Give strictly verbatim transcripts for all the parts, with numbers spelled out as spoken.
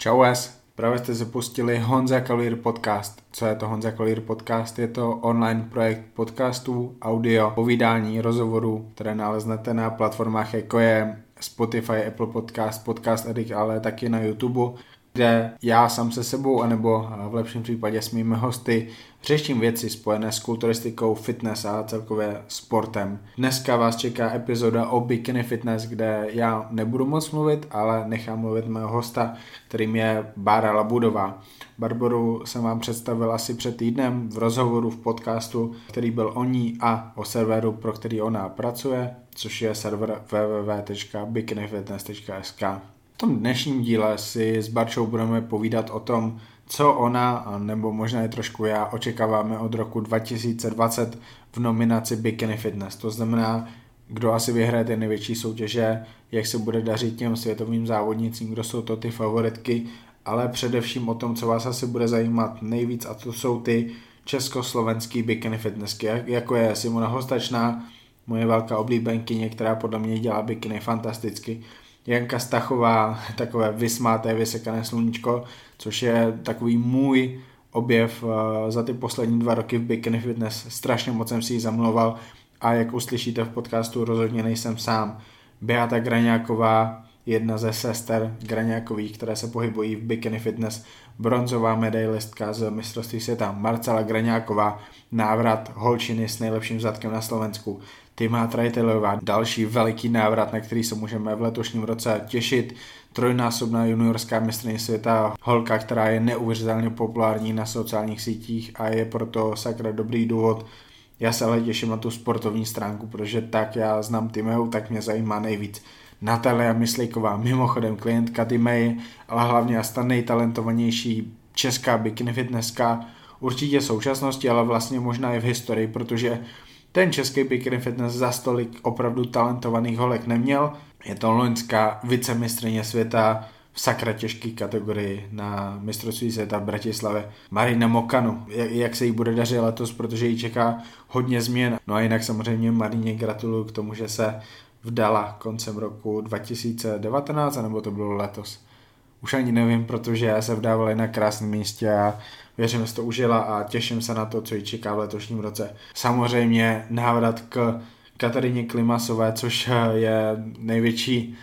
Čau es, právě jste se pustili Honza Kalír podcast. Co je to Honza Kalír podcast? Je to online projekt podcastů, audio, povídání, rozhovorů, které naleznete na platformách jako je Spotify, Apple Podcast, Podcast Addict, ale taky na YouTube, kde já sám se sebou, anebo v lepším případě s mými hosty řeším věci spojené s kulturistikou, fitness a celkově sportem. Dneska vás čeká epizoda o bikini fitness, kde já nebudu moc mluvit, ale nechám mluvit mého hosta, kterým je Bára Labudová. Barboru jsem vám představil asi před týdnem v rozhovoru v podcastu, který byl o ní a o serveru, pro který ona pracuje, což je server w w w tečka bikini fitness tečka s k. V tom dnešním díle si s Barčou budeme povídat o tom, co ona, nebo možná i trošku já, očekáváme od roku dva tisíce dvacet v nominaci Bikini Fitness. To znamená, kdo asi vyhraje ty největší soutěže, jak se bude dařit těm světovým závodnicím, kdo jsou to ty favoritky, ale především o tom, co vás asi bude zajímat nejvíc, a to jsou ty československý bikini fitnessky, jako je Simona Hostačná, moje velká oblíbenkyně, která podle mě dělá bikini fantasticky, Janka Stachová, takové vysmáté, vysekané sluníčko, což je takový můj objev za ty poslední dva roky v bikini fitness. Strašně moc jsem si ji zamlouval a jak uslyšíte v podcastu, rozhodně nejsem sám. Beata Graňáková, jedna ze sester Graňákových, které se pohybují v bikini fitness, bronzová medailistka z mistrovství světa Marcela Graňáková, návrat holčiny s nejlepším zadkem na Slovensku, Tima Trajtelová, další veliký návrat, na který se můžeme v letošním roce těšit, trojnásobná juniorská mistryně světa, holka, která je neuvěřitelně populární na sociálních sítích a je proto sakra dobrý důvod. Já se ale těším na tu sportovní stránku, protože tak já znám Timeu, tak mě zajímá nejvíc. Natalia Myslíková, mimochodem klientka Timei, ale hlavně a ta nejtalentovanější česká bikini fitnesska, určitě v současnosti, ale vlastně možná i v historii, protože ten český bikini fitness za stolik opravdu talentovaných holek neměl. Je to loňská vicemistryně světa v sakra těžké kategorii na mistrovství světa v Bratislavě. Marina Mokanu, jak, jak se jí bude dařit letos, protože jí čeká hodně změn. No a jinak samozřejmě Marině gratuluju k tomu, že se vdala koncem roku dva tisíce devatenáct, anebo to bylo letos. Už ani nevím, protože se vdávali na krásném místě a věřím, že se to užila a těším se na to, co ji čeká v letošním roce. Samozřejmě návrat k Kateřině Klimasové, což je největší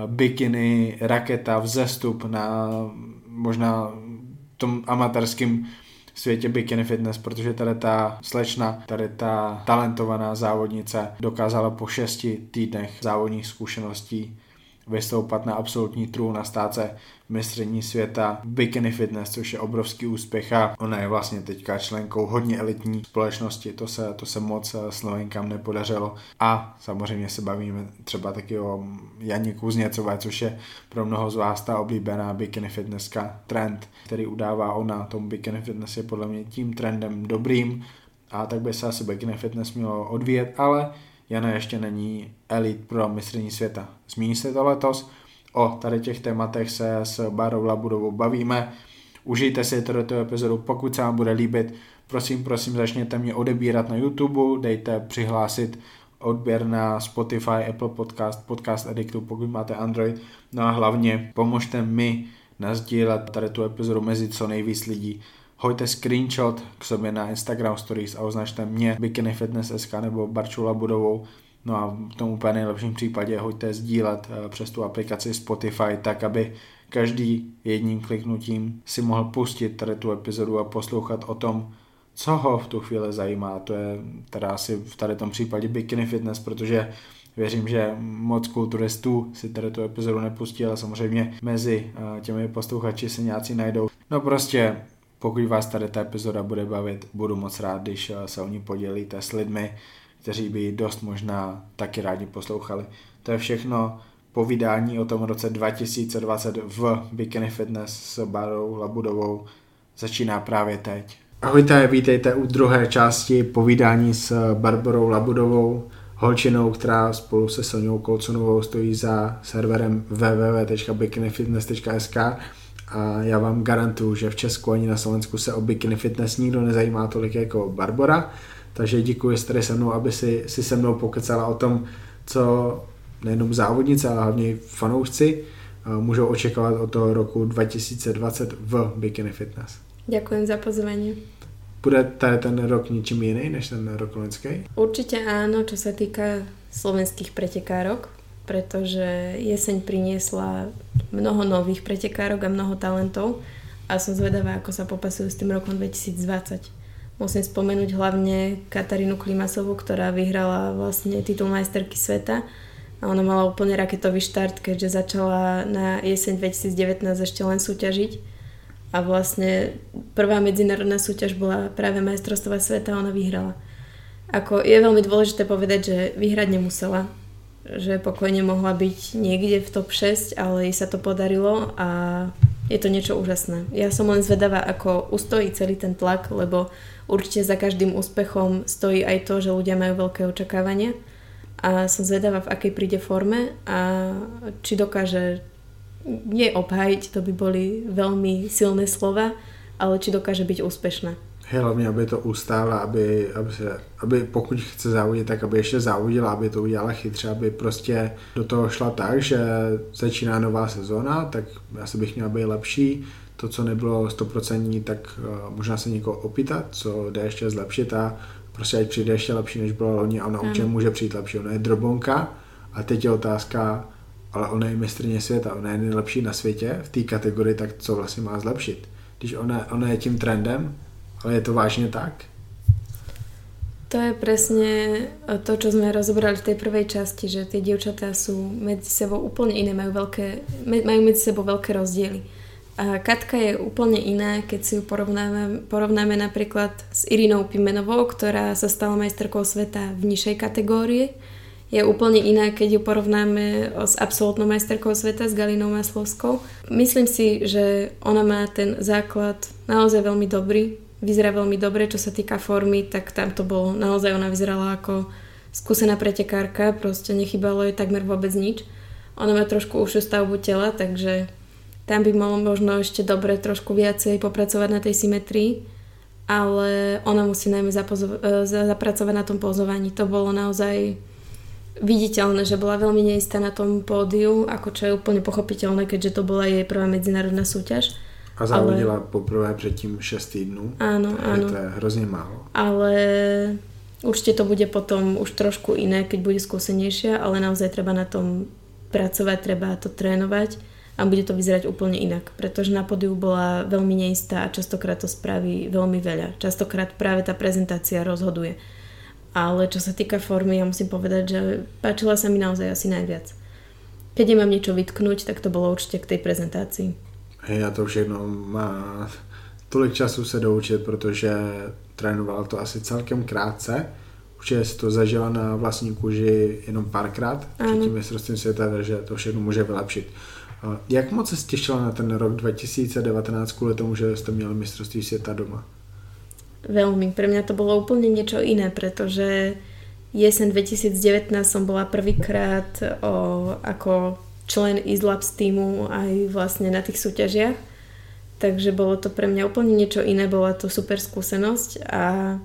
bikini raketa, vzestup na možná tom amatérském světě bikini fitness, protože tady ta slečna, tady ta talentovaná závodnice dokázala po šesti týdnech závodních zkušeností vystoupat na absolutní trůn a stát se mistryní světa bikini fitness, což je obrovský úspěch a ona je vlastně teďka členkou hodně elitní společnosti, to se, to se moc Slovenkám nepodařilo. A samozřejmě se bavíme třeba taky o Janě Kuzněcové, což je pro mnoho z vás ta oblíbená bikini fitnesska. Trend, který udává ona, tomu bikini fitness je podle mě tím trendem dobrým a tak by se asi bikini fitness mělo odvíjet, ale Jana ještě není elit pro mistryní světa. Zmíní se to letos. O tady těch tématech se s Bárou Labudovou bavíme. Užijte si tuto epizodu, pokud se vám bude líbit. Prosím, prosím, začněte mě odebírat na YouTube, dejte přihlásit odběr na Spotify, Apple Podcast, Podcast Addictu, pokud máte Android. No a hlavně pomožte mi nasdílet tady tu epizodu mezi co nejvíc lidí. Hoďte screenshot k sobě na Instagram Stories a označte mě Bikini Fitness S K nebo Barču Labudovou. No a v tom úplně nejlepším případě hoďte sdílet přes tu aplikaci Spotify, tak aby každý jedním kliknutím si mohl pustit tady tu epizodu a poslouchat o tom, co ho v tu chvíli zajímá. To je teda asi v tady tom případě Bikini Fitness, protože věřím, že moc kulturistů si tady tu epizodu nepustí, ale samozřejmě mezi těmi posluchači se nějací najdou. No prostě pokud vás tady ta epizoda bude bavit, budu moc rád, když se o ní podělíte s lidmi, kteří by dost možná taky rádi poslouchali. To je všechno povídání o tom roce dva tisíce dvacet v Bikini Fitness s Bárou Labudovou. Začíná právě teď. Ahojte, vítejte u druhé části povídání s Barborou Labudovou, holčinou, která spolu se Soňou Kolcunovou stojí za serverem w w w tečka bikini fitness tečka s k. A já vám garantuju, že v Česku ani na Slovensku se o bikini fitness nikdo nezajímá tolik jako Barbora, takže děkuji, že jste tady se mnou, aby si, si se mnou pokecala o tom, co nejenom závodnice, ale hlavně fanoušci můžou očekávat od toho roku dva tisíce dvacet v Bikini Fitness. Ďakujem za pozvanie. Bude tady ten rok ničím jiný než ten rok loňský? Určite áno, čo sa týka slovenských pretekárok, pretože jeseň priniesla mnoho nových pretekárok a mnoho talentov a som zvedavá, ako sa popasujú s tým rokom dvetisícdvadsať. Musím spomenúť hlavne Katarínu Klimasovú, ktorá vyhrala vlastne titul majsterky sveta a ona mala úplne raketový štart, keďže začala na jeseň dvetisícdevätnásť ešte len súťažiť a vlastne prvá medzinárodná súťaž bola práve majstrovstvá sveta a ona vyhrala. Ako je veľmi dôležité povedať, že vyhrať nemusela, že pokojne mohla byť niekde v top šesť, ale jej sa to podarilo a je to niečo úžasné. Ja som len zvedavá, ako ustojí celý ten tlak, lebo určite za každým úspechom stojí aj to, že ľudia majú veľké očakávania a som zvedavá, v akej príde forme a či dokáže nie obhájiť, to by boli veľmi silné slova, ale či dokáže byť úspešná. Hlavně, aby to ustála, aby, aby, se, aby pokud chce závodit, tak aby ještě závodila, aby to udělala chytře, aby prostě do toho šla tak, že začíná nová sezóna, tak asi bych měla být lepší. To, co nebylo sto procent, tak uh, možná se někoho opýtat, co jde ještě zlepšit a prostě ať přijde ještě lepší, než bylo loni a ona určitě může přijít lepší. Ona je drobonka a teď je otázka, ale ona je mistryně světa, ona je nejlepší na světě v té kategorii, tak co vlastně má zlepšit? Když ona, ona je tím trendem, ale je to vážne tak? To je presne to, čo sme rozobrali v tej prvej časti, že tie dievčatá sú medzi sebou úplne iné, majú, veľké, majú medzi sebou veľké rozdiely. A Katka je úplne iná, keď si ju porovnáme, porovnáme napríklad s Irinou Pimenovou, ktorá sa stala majsterkou sveta v nižšej kategórii. Je úplne iná, keď ju porovnáme s absolútnou majsterkou sveta, s Galinou Maslovskou. Myslím si, že ona má ten základ naozaj veľmi dobrý. Vyzerá veľmi dobre, čo sa týka formy, tak tam to bolo, naozaj ona vyzerala ako skúsená pretekárka, proste nechybalo jej takmer vôbec nič. Ona má trošku užšiu stavbu tela, takže tam by malo možno ešte dobre trošku viacej popracovať na tej symetrii, ale ona musí najmä zapozo- zapracovať na tom pozovaní. To bolo naozaj viditeľné, že bola veľmi neistá na tom pódiu, ako čo je úplne pochopiteľné, keďže to bola jej prvá medzinárodná súťaž. A závodila ale poprvé předtím šest týdnů. Áno, áno. To je hrozně málo. Ale určite to bude potom už trošku iné, keď bude skúsenejšia, ale naozaj treba na tom pracovať, treba to trénovať a bude to vyzerať úplne inak, pretože na pódiu bola veľmi neistá a častokrát to spraví veľmi veľa. Častokrát práve tá prezentácia rozhoduje. Ale čo sa týka formy, ja musím povedať, že páčila sa mi naozaj asi najviac. Keď nemám niečo vytknúť, tak to bolo určite k tej prezentácii. Já to všechno má tolik času se doučit, protože trénovala to asi celkem krátce. Určitě si to zažila na vlastní kůži jenom párkrát před tím mistrovstvím světa, takže to všechno může vylepšit. Jak moc se těšila na ten rok dva tisíce devätnásť kvůli tomu, že jste měli mistrovství světa doma? Veľmi. Pre mňa to bolo úplne niečo iné, pretože jeseň dvetisícdevätnásť som bola prvýkrát o, ako člen Izlabs týmu aj vlastne na tých súťažiach. Takže bolo to pre mňa úplne niečo iné, bola to super skúsenosť a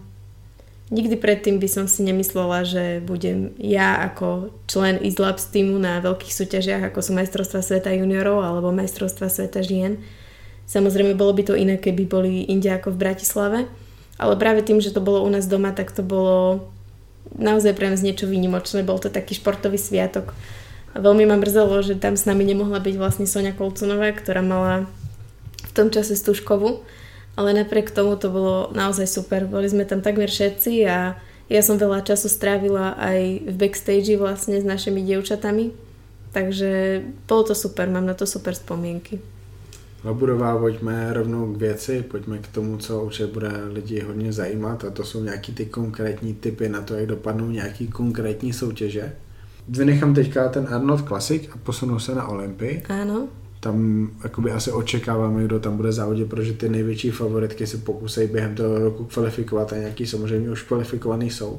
nikdy predtým by som si nemyslela, že budem ja ako člen Izlabs týmu na veľkých súťažiach, ako sú majstrovstvá sveta juniorov alebo majstrovstvá sveta žien. Samozrejme bolo by to iné, keby boli inde ako v Bratislave, ale práve tým, že to bolo u nás doma, tak to bolo naozaj pre nás niečo výnimočné. Bol to taký športový sviatok. A veľmi ma mrzelo, že tam s nami nemohla byť vlastne Soňa Kolcunová, ktorá mala v tom čase Stužkovú, ale napriek tomu to bolo naozaj super. Boli sme tam takmer všetci a ja som veľa času strávila aj v backstage vlastne s našimi dievčatami, takže bolo to super, mám na to super spomienky. Laburová, pojďme rovnou k věci, pojďme k tomu, co určitě bude lidi hodně zajímat a to jsou nějaký ty konkrétní tipy na to, jak dopadnou nějaký konkrétní soutěže. Vynechám teďka ten Arnold Classic a posunu se na Olympii. Áno. Tam jakoby asi očekáváme, kdo tam bude závodit, protože ty největší favoritky se pokusí během toho roku kvalifikovat a nějaký samozřejmě už kvalifikovaný jsou.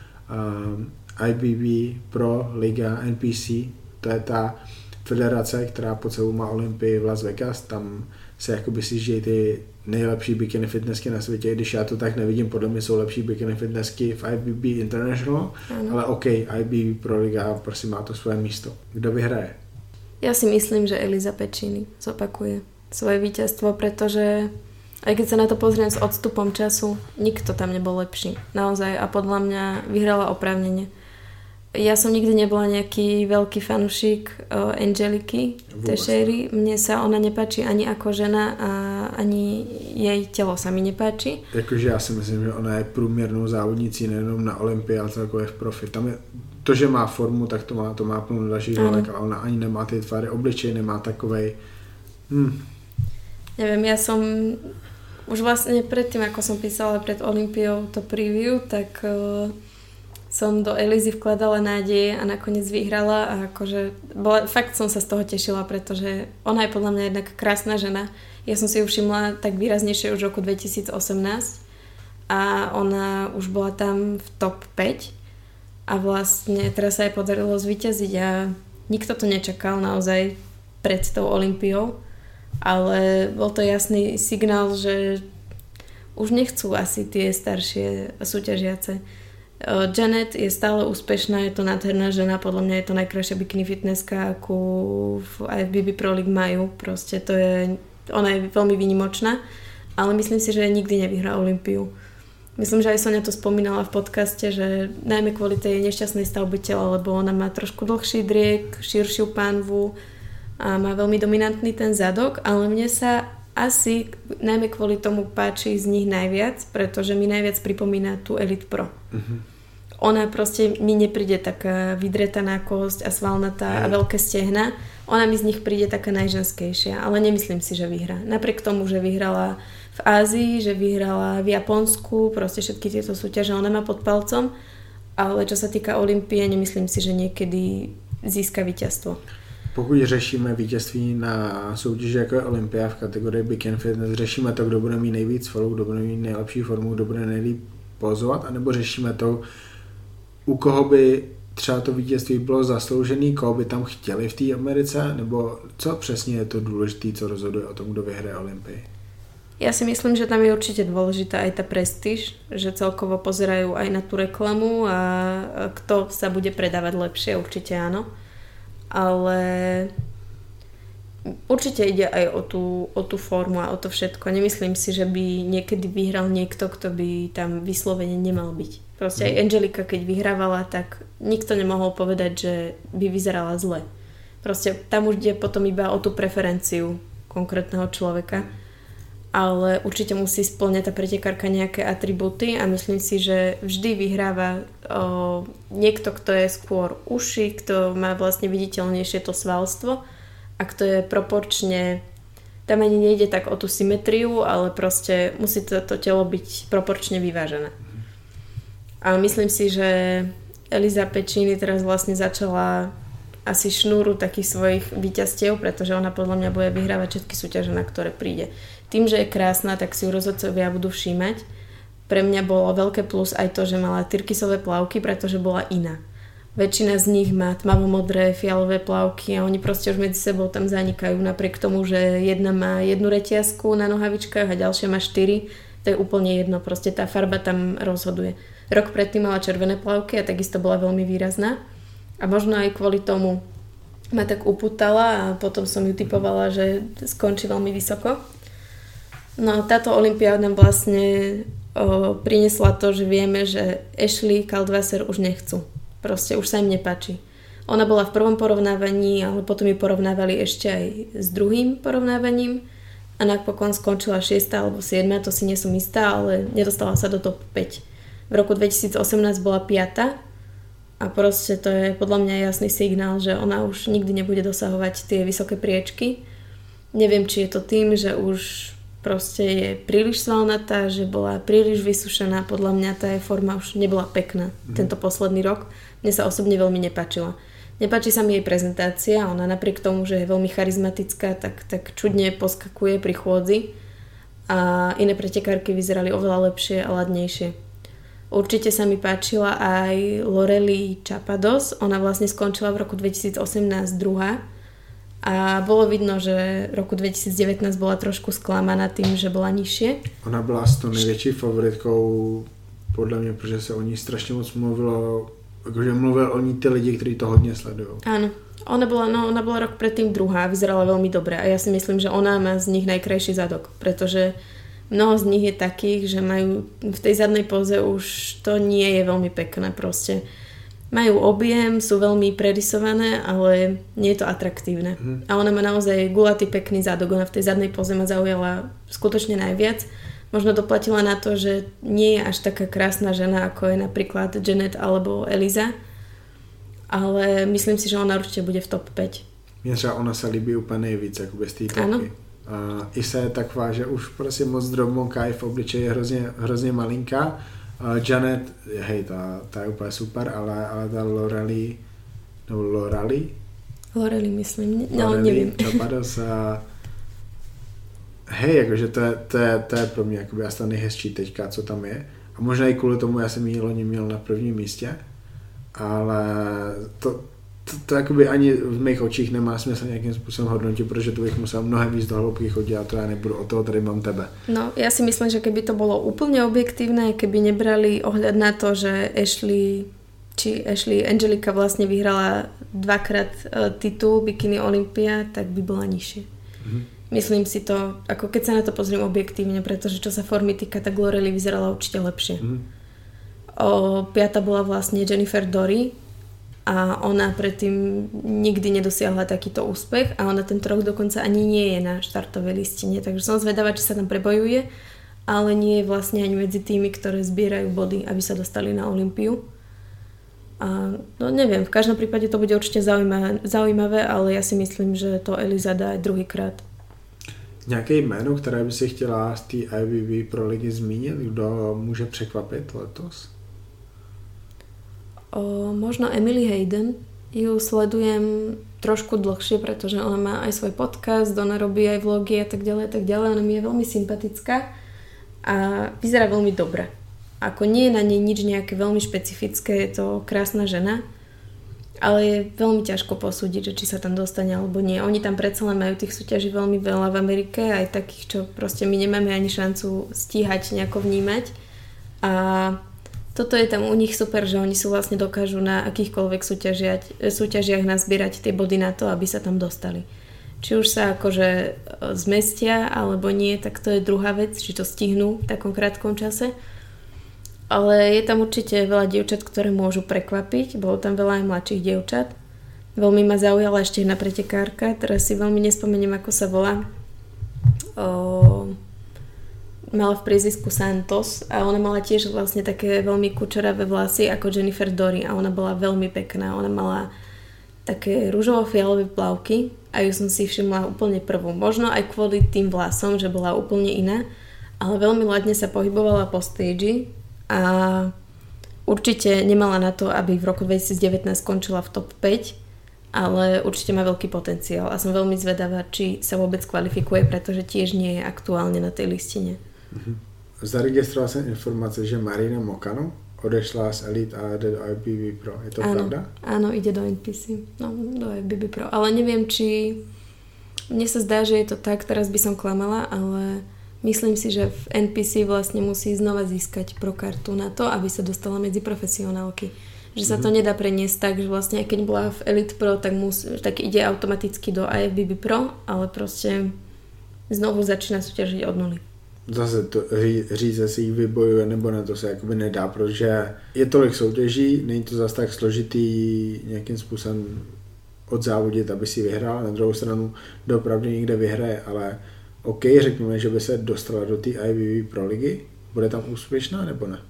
Uh, I B B, Pro, Liga, N P C, to je ta federace, která pod sebou má Olympii v Las Vegas, tam se jakoby sjíždějí ty nejlepší bikini fitnessky na světě, i když já to tak nevidím, podle mě jsou lepší bikini fitnessky v I B B International, ano. Ale OK, I B B Pro Liga, prosím, má to svoje místo. Kdo vyhraje? Ja si myslím, že Elisa Pecini zopakuje svoje víťazstvo, pretože aj keď sa na to pozriem s odstupom času, nikto tam nebol lepší. Naozaj. A podľa mňa vyhrala oprávnene. Ja som nikdy nebola nejaký veľký fanúšik uh, Angeliky Teixeiry. Mne sa ona nepáči ani ako žena a ani jej telo sa mi nepáči. Jakože já si myslím, že ona je průměrnou závodnicí nejenom na Olympii, ale celkově v profi. Tam je to, že má formu, tak to má, to má plnou dalších želek, ale ona ani nemá ty tvary obličej, nemá takovej... Hm. Neviem, ja som už vlastne predtým, ako som písala pred Olympiou to preview, tak uh, som do Elizy vkladala nádeje a nakoniec vyhrala a akože bola, fakt som sa z toho tešila, pretože ona je podľa mňa jednak krásna žena. Ja som si ju všimla tak výraznejšie už v roku dvetisíc osemnásť a ona už bola tam v top päť a vlastne teraz sa jej podarilo zvíťaziť a nikto to nečakal naozaj pred tou Olympiou, ale bol to jasný signál, že už nechcú asi tie staršie súťažiace. Janet je stále úspešná, je to nádherná žena, podľa mňa je to najkrajšia bikini fitnesska, akú aj v bé bé Pro League majú, proste to je, ona je veľmi výnimočná, ale myslím si, že nikdy nevyhrá Olympiu. Myslím, že aj Sonia to spomínala v podcaste, že najmä kvôli tej nešťastnej stavbe tela, lebo ona má trošku dlhší driek, širšiu pánvu a má veľmi dominantný ten zadok, ale mne sa asi najmä kvôli tomu páči z nich najviac, pretože mi najviac pripomína tú Elite Pro. Uh-huh. Ona proste mi nepríde taká vydretaná kosť a svalnatá a veľké stehna. Ona mi z nich príde taká najženskejšia, ale nemyslím si, že vyhrá. Napriek tomu, že vyhrala v Ázii, že vyhrala v Japonsku, proste všetky tieto súťaže ona má pod palcom, ale čo sa týka Olympie, nemyslím si, že niekedy získa víťazstvo. Pokud řešíme vítězství na soutěži jako je Olympia v kategorii Bikini Fitness, řešíme to, kdo bude mít nejvíc svalů, kdo bude mít nejlepší formu, kdo bude nejlíp pozovat, anebo řešíme to, u koho by třeba to vítězství bylo zasloužený, koho by tam chtěli v té Americe, nebo co přesně je to důležité, co rozhoduje o tom, kdo vyhraje Olympii? Ja si myslím, že tam je určite dôležitá aj tá prestíž, že celkovo pozerajú aj na tú reklamu a kto sa bude predávať lepšie, určite áno. Ale určite ide aj o tú, o tú formu a o to všetko. Nemyslím si, že by niekedy vyhral niekto, kto by tam vyslovene nemal byť. Proste aj Angelika, keď vyhrávala, tak nikto nemohol povedať, že by vyzerala zle. Proste tam už ide potom iba o tú preferenciu konkrétneho človeka. Ale určite musí spĺňať tá pretekárka nejaké atribúty a myslím si, že vždy vyhráva o, niekto, kto je skôr uši, kto má vlastne viditeľnejšie to svalstvo a kto je proporčne, tam ani nejde tak o tú symetriu, ale proste musí to, to telo byť proporčne vyvážené. A myslím si, že Elisa Pecini teraz vlastne začala asi šnúru takých svojich víťazstiev, pretože ona podľa mňa bude vyhrávať všetky súťaže, na ktoré príde. Tým, že je krásna, tak si ju rozhodcovia budú všímať. Pre mňa bolo veľké plus aj to, že mala tyrkysové plavky, pretože bola iná. Väčšina z nich má tmavomodré, fialové plavky a oni proste už medzi sebou tam zanikajú. Napriek tomu, že jedna má jednu reťazku na nohavičkách a ďalšia má štyri, to je úplne jedno. Proste tá farba tam rozhoduje. Rok predtým mala červené plavky a takisto bola veľmi výrazná. A možno aj kvôli tomu ma tak upútala a potom som ju typovala, že skončí veľmi vysoko. No táto Olympia nám vlastne o, priniesla to, že vieme, že Ashley Kaldwasser už nechcú. Proste už sa im nepáči. Ona bola v prvom porovnávaní, ale potom ju porovnávali ešte aj s druhým porovnávaním a napokon skončila šiesta alebo siedma, to si nie som istá, ale nedostala sa do top päť. V roku dvetisíc osemnásť bola piata a proste to je podľa mňa jasný signál, že ona už nikdy nebude dosahovať tie vysoké priečky. Neviem, či je to tým, že už proste je príliš svalnatá, že bola príliš vysušená. Podľa mňa tá jej forma už nebola pekná mm. tento posledný rok. Mne sa osobne veľmi nepáčila. Nepáči sa mi jej prezentácia. Ona napriek tomu, že je veľmi charizmatická, tak, tak čudne poskakuje pri chôdzi. A iné pretekárky vyzerali oveľa lepšie a ladnejšie. Určite sa mi páčila aj Loreli Chapados. Ona vlastne skončila v roku dvetisíc osemnásť druhá. A bolo vidno, že v roku dvetisíc devätnásť bola trošku sklamaná tým, že bola nižšie. Ona byla s tou největší favoritkou podle mě, protože se o ní strašně moc mluvilo, jakože mluvil o ní ty lidi, kteří to hodně sledují. Áno, Ona bola, no, ona bola rok predtým druhá, vyzerala veľmi dobre a ja si myslím, že ona má z nich najkrajší zadok, pretože mnoho z nich je takých, že majú v tej zadnej poze už to nie je veľmi pekné proste. Majú objem, sú veľmi predisované, ale nie je to atraktívne. Mm. A ona má naozaj gulatý pekný zadok, ona v tej zadnej poze ma zaujala skutočne najviac. Možno doplatila na to, že nie je až taká krásna žena, ako je napríklad Janet alebo Eliza, ale myslím si, že ona určitě bude v top päť. Mně třeba ona se líbí úplně nejvíc, jakoby z té topky. Uh, Isa je taková, že už prostě moc drobmonká, je v obličeji hrozně, hrozně malinká. Uh, Janet, hej, ta, ta je úplně super, ale, ale ta Lorelei, nebo Lorelei? Lorelei myslím, no Lorelei, nevím. Chapados a hej, jakože to je, to je, to je pro mě jakoby asi ta nejhezčí teďka, co tam je. A možná i kvůli tomu já jsem ji loni měl na prvním místě. Ale to, to, to jakoby ani v mých očích nemá smysl nějakým způsobem hodnotit, protože to bych musel mnohem víc do hloubky chodit a to já nebudu, o toho tady mám tebe. No, ja si myslím, že keby to bolo úplne objektívne, keby nebrali ohľad na to, že Ashley, či Ashley Angelika vlastne vyhrala dvakrát titul Bikini Olympia, tak by bola nižšie. Mhm. Myslím si to, ako keď sa na to pozriem objektívne, pretože čo sa formy týka, tak Lorelei vyzerala určite lepšie. Mhm. O, piata bola vlastne Jennifer Dory a ona predtým nikdy nedosiahla takýto úspech a ona tento rok dokonca ani nie je na štartovej listine, takže som zvedavá, či sa tam prebojuje, ale nie je vlastne ani medzi tými, ktoré zbierajú body, aby sa dostali na Olympiu. A no neviem, v každom prípade to bude určite zaujímavé, zaujímavé, ale ja si myslím, že to Eliza dá aj druhýkrát. Nějaké jméno, které by si chtěla z té I B B Pro ligy zmínit, kdo může překvapit letos? O, možno Emily Hayden, ju sledujem trošku dlhšie, pretože ona má aj svoj podcast, ona robí aj vlogy a tak ďalej, tak ďalej, ona mi je veľmi sympatická a vyzerá veľmi dobre. Ako nie je na nej nič nejaké veľmi špecifické, je to krásna žena, ale je veľmi ťažko posúdiť, že či sa tam dostane alebo nie. Oni tam predsa len majú tých súťaží veľmi veľa v Amerike, aj takých, čo proste my nemáme ani šancu stíhať nejako vnímať a toto je tam u nich super, že oni sú vlastne dokážu na akýchkoľvek súťažiach nazbierať tie body na to, aby sa tam dostali. Či už sa akože zmestia alebo nie, tak to je druhá vec, či to stihnú v takom krátkom čase. Ale je tam určite veľa dievčat, ktoré môžu prekvapiť. Bolo tam veľa aj mladších dievčat. Veľmi ma zaujala ešte jedna pretekárka, teraz si veľmi nespomeniem, ako sa volá. O... Mala v priezvisku Santos a ona mala tiež vlastne také veľmi kučeravé vlasy ako Jennifer Dory a ona bola veľmi pekná. Ona mala také ružovo-fialové plavky a ju som si všimla úplne prvú. Možno aj kvôli tým vlasom, že bola úplne iná, ale veľmi ladne sa pohybovala po stage a určite nemala na to, aby v roku dvetisícdevätnásť skončila v top päť, ale určite má veľký potenciál a som veľmi zvedavá, či sa vôbec kvalifikuje, pretože tiež nie je aktuálne na tej listine. Zaregistroval jsem informace, že Marina Mokano odešla z Elite a jde do I B B Pro. Je to áno, pravda? Áno, ide do N P C. No, do I B B Pro. Ale neviem, či... Mne sa zdá, že je to tak, teraz by som klamala, ale myslím si, že v N P C vlastne musí znova získať pro kartu na to, aby sa dostala medzi profesionálky. Že sa mm-hmm. to nedá preniesť tak, že vlastne keď bola v Elite Pro, tak, mus, tak ide automaticky do I F B B Pro, ale proste znovu začíná súťažiť od nuly. Zase to ří, říct, si jich vybojuje nebo na to se jakoby nedá, protože je tolik soutěží, není to zase tak složitý nějakým způsobem odzávodit, aby si vyhrál. Na druhou stranu doopravdy někde vyhraje, ale OK, řekněme, že by se dostala do té I B B Pro ligy. Bude tam úspěšná nebo ne?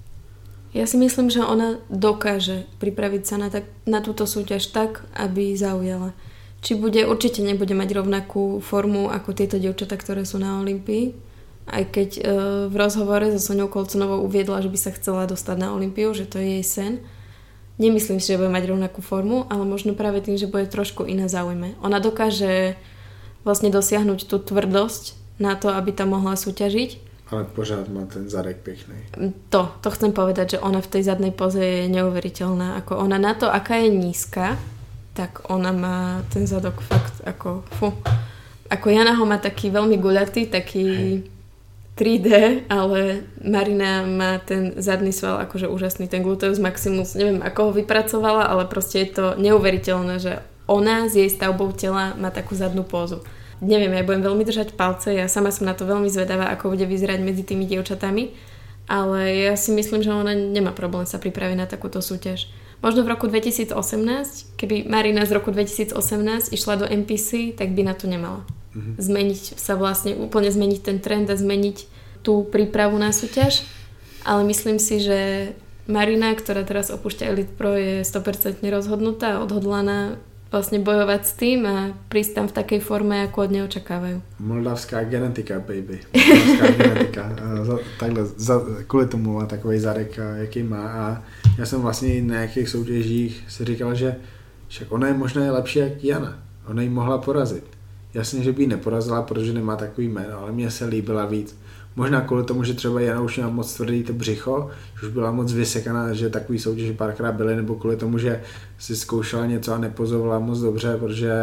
Ja si myslím, že ona dokáže pripraviť sa na, tak, na túto súťaž tak, aby zaujala. Či bude, určite nebude mať rovnakú formu ako tieto dievčatá, ktoré sú na Olympii. Aj keď e, v rozhovore so Soňou Kolconovou uviedla, že by sa chcela dostať na Olympiu, že to je jej sen. Nemyslím si, že bude mať rovnakú formu, ale možno práve tým, že bude trošku iná zaujme. Ona dokáže vlastne dosiahnuť tú tvrdosť na to, aby tam mohla súťažiť. Ale pořád má ten zadek pekný. To, to chcem povedať, že ona v tej zadnej poze je neuveriteľná. Ako ona na to, aká je nízka, tak ona má ten zadok fakt ako fu. Ako Jana ho má taký veľmi guľatý, taký... Hej. tri dé, ale Marina má ten zadný sval akože úžasný, ten gluteus maximus, neviem ako ho vypracovala, ale proste je to neuveriteľné, že ona s jej stavbou tela má takú zadnú pózu. Neviem, ja budem veľmi držať palce, ja sama som na to veľmi zvedavá, ako bude vyzerať medzi tými dievčatami, ale ja si myslím, že ona nemá problém sa pripraviť na takúto súťaž. Možno v roku dvetisícosemnásť, keby Marina z roku dvetisícosemnásť išla do em pé cé, tak by na to nemala. Mm-hmm. Zmeniť sa vlastne, úplne zmeniť ten trend a zmeniť tú prípravu na súťaž, ale myslím si, že Marina, ktorá teraz opúšťa Elite Pro, je sto percent rozhodnutá a odhodlaná vlastne bojovať s tým a prísť tam v takej forme, ako od neho očakávajú. Moldavská genetika, baby. Moldavská genetika. Takhle, za, kvůli tomu má takovej zadek, jaký má. A já jsem vlastně na nějakých soutěžích si říkal, že však ona je možná lepší jak Jana. Ona ji mohla porazit. Jasně, že by ji neporazila, protože nemá takový jméno, ale mně se líbila víc. Možná kvůli tomu, že třeba Jana už měla moc tvrdý to břicho, že už byla moc vysekaná, že takový soutěže párkrát byly, nebo kvůli tomu, že si zkoušela něco a nepozovala moc dobře, protože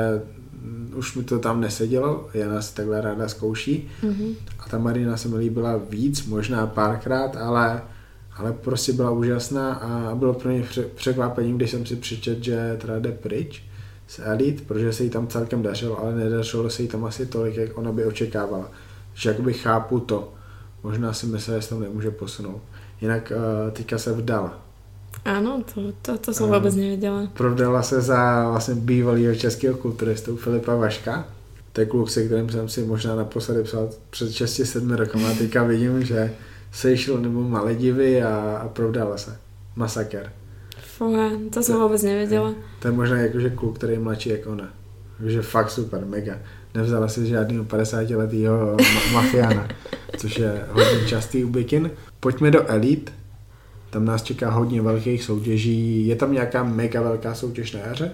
už mi to tam nesedělo. Jana si takhle ráda zkouší. Mm-hmm. A ta Marina se mi líbila víc, možná párkrát, ale, ale prostě byla úžasná a bylo pro mě překvapením, když jsem si přečetl, že teda jde pryč z Elite, protože se jí tam celkem dařilo, ale nedařilo se jí tam asi tolik, jak ona by očekávala. Že jakoby chápu to. Možná si myslím, že se tam nemůže posunout. Jinak uh, teďka se vdala. Áno, to, to, to som uh, vôbec nevedela. Provdala se za vlastně bývalýho českého kulturistu Filipa Vaška. To je kluk, se kterým jsem si možná naposledy psal před šesti sedmi rokama. Teďka vidím, že sešel nebo Maledivy a, a provdala se. Masaker. Fúha, to som to, vôbec nevedela. To je možná jakože kluk, který je mladší jak ona. Takže fakt super, mega. Nevzala si žádného padesátiletého ma- mafiána, což je hodně častý u bikin. Pojďme do Elite. Tam nás čeká hodně velkých soutěží. Je tam nějaká mega velká soutěž na jaře?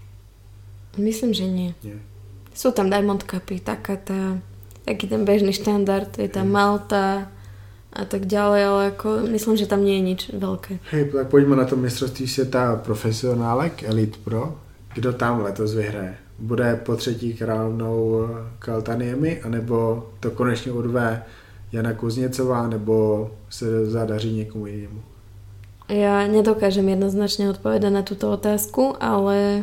Myslím, že nie. nie. Sú tam Diamond Cupy, taká tá, taký ten bežný štandard, je tam Malta a tak ďalej, ale ako myslím, že tam nie je nič veľké. Hej, tak pojďme na to mistrovství světa profesionálek Elite Pro. Kdo tam letos vyhraje? Bude po třetí královnou Kaltaniemi, anebo to konečně urve Jana Kuzněcová, nebo se zadaří někomu jinému? Ja nedokážem jednoznačne odpovedať na túto otázku, ale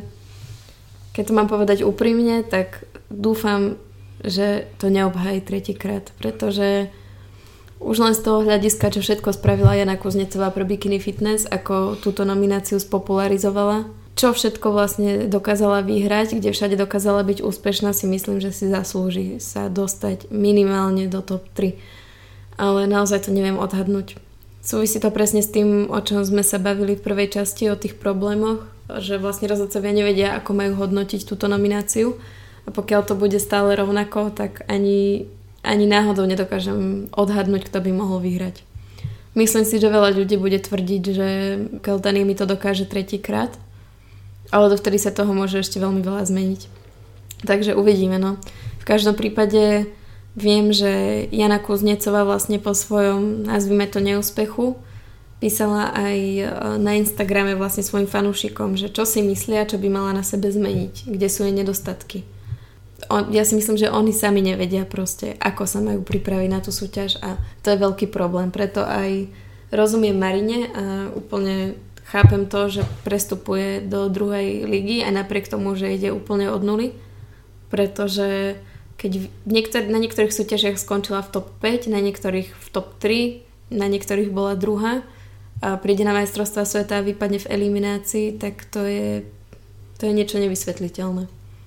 keď to mám povedať úprimne, tak dúfam, že to neobhájí tretíkrát, pretože už len z toho hľadiska, čo všetko spravila Jana Kuznecová pre Bikini Fitness, ako túto nomináciu spopularizovala, čo všetko vlastne dokázala vyhrať, kde všade dokázala byť úspešná, si myslím, že si zaslúži sa dostať minimálne do top tri. Ale naozaj to neviem odhadnúť. Súvisí to presne s tým, o čom sme sa bavili v prvej časti, o tých problémoch, že vlastne rozhodcovia nevedia, ako majú hodnotiť túto nomináciu. A pokiaľ to bude stále rovnako, tak ani, ani náhodou nedokážem odhadnúť, kto by mohol vyhrať. Myslím si, že veľa ľudí bude tvrdiť, že Kaltaniemi to dokáže tretíkrát, ale dovtedy sa toho môže ešte veľmi veľa zmeniť. Takže uvidíme, no. V každom prípade viem, že Jana Kuznecová vlastne po svojom, nazvime to, neúspechu písala aj na Instagrame vlastne svojim fanúšikom, že čo si myslia, čo by mala na sebe zmeniť, kde sú jej nedostatky. On, ja si myslím, že oni sami nevedia proste, ako sa majú pripraviť na tú súťaž a to je veľký problém. Preto aj rozumiem Marine a úplne chápem to, že prestupuje do druhej ligy a napriek tomu, že ide úplne od nuly, pretože keď niektor- na niektorých súťažiach skončila v top päť, na niektorých v top tri, na niektorých bola druhá a príde na majstrovstvá sveta a vypadne v eliminácii, tak to je, to je niečo nevysvetliteľné.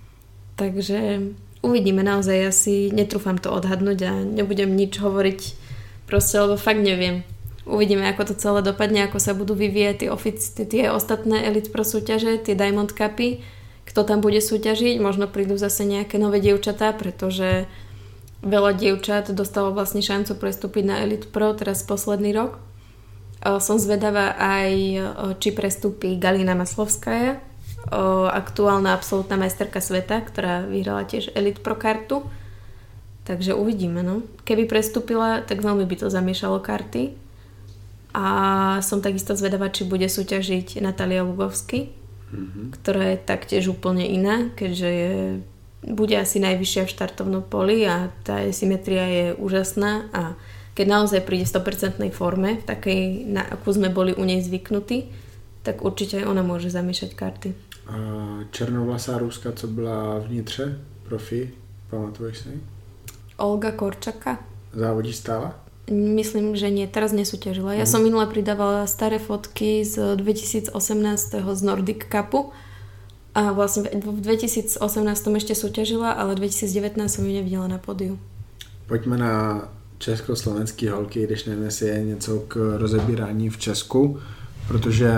Takže uvidíme, naozaj, ja si netrúfam to odhadnúť a nebudem nič hovoriť proste, lebo fakt neviem. Uvidíme, ako to celé dopadne, ako sa budú vyvíjať tie, ofici- tie ostatné Elite Pro súťaže, tie Diamond Cupy, kto tam bude súťažiť, možno prídu zase nejaké nové dievčatá, pretože veľa dievčat dostalo vlastne šancu prestúpiť na Elite Pro teraz posledný rok. Som zvedavá aj, či prestúpi Galina Maslovská, aktuálna absolútna majsterka sveta, ktorá vyhrala tiež Elite Pro kartu. Takže uvidíme, no. Keby prestúpila, tak veľmi by to zamiešalo karty. A som takisto zvedavá, či bude súťažiť Natália Lugovsky, mm-hmm. ktorá je taktiež úplne iná, keďže je, bude asi najvyššia v štartovnom poli a tá symetria je úžasná a keď naozaj príde v sto percent forme, v takej, na akú sme boli u nej zvyknutí, tak určite aj ona môže zamiešať karty. černovlasá Ruska, co byla vnitře, profi, pamatuješ si? Olga Korčaka. Závodí stála? Myslím, že nie, teraz nesúťažila. Ja mm. som minule pridávala staré fotky z dvetisícosemnásť z Nordic Cupu a vlastne v dvetisícosemnásť ešte súťažila, ale v dvetisícdevätnásť som ju nevidela na pódiu. Pojďme na československý holky, když nevím, jestli je něco k rozebírání v Česku, protože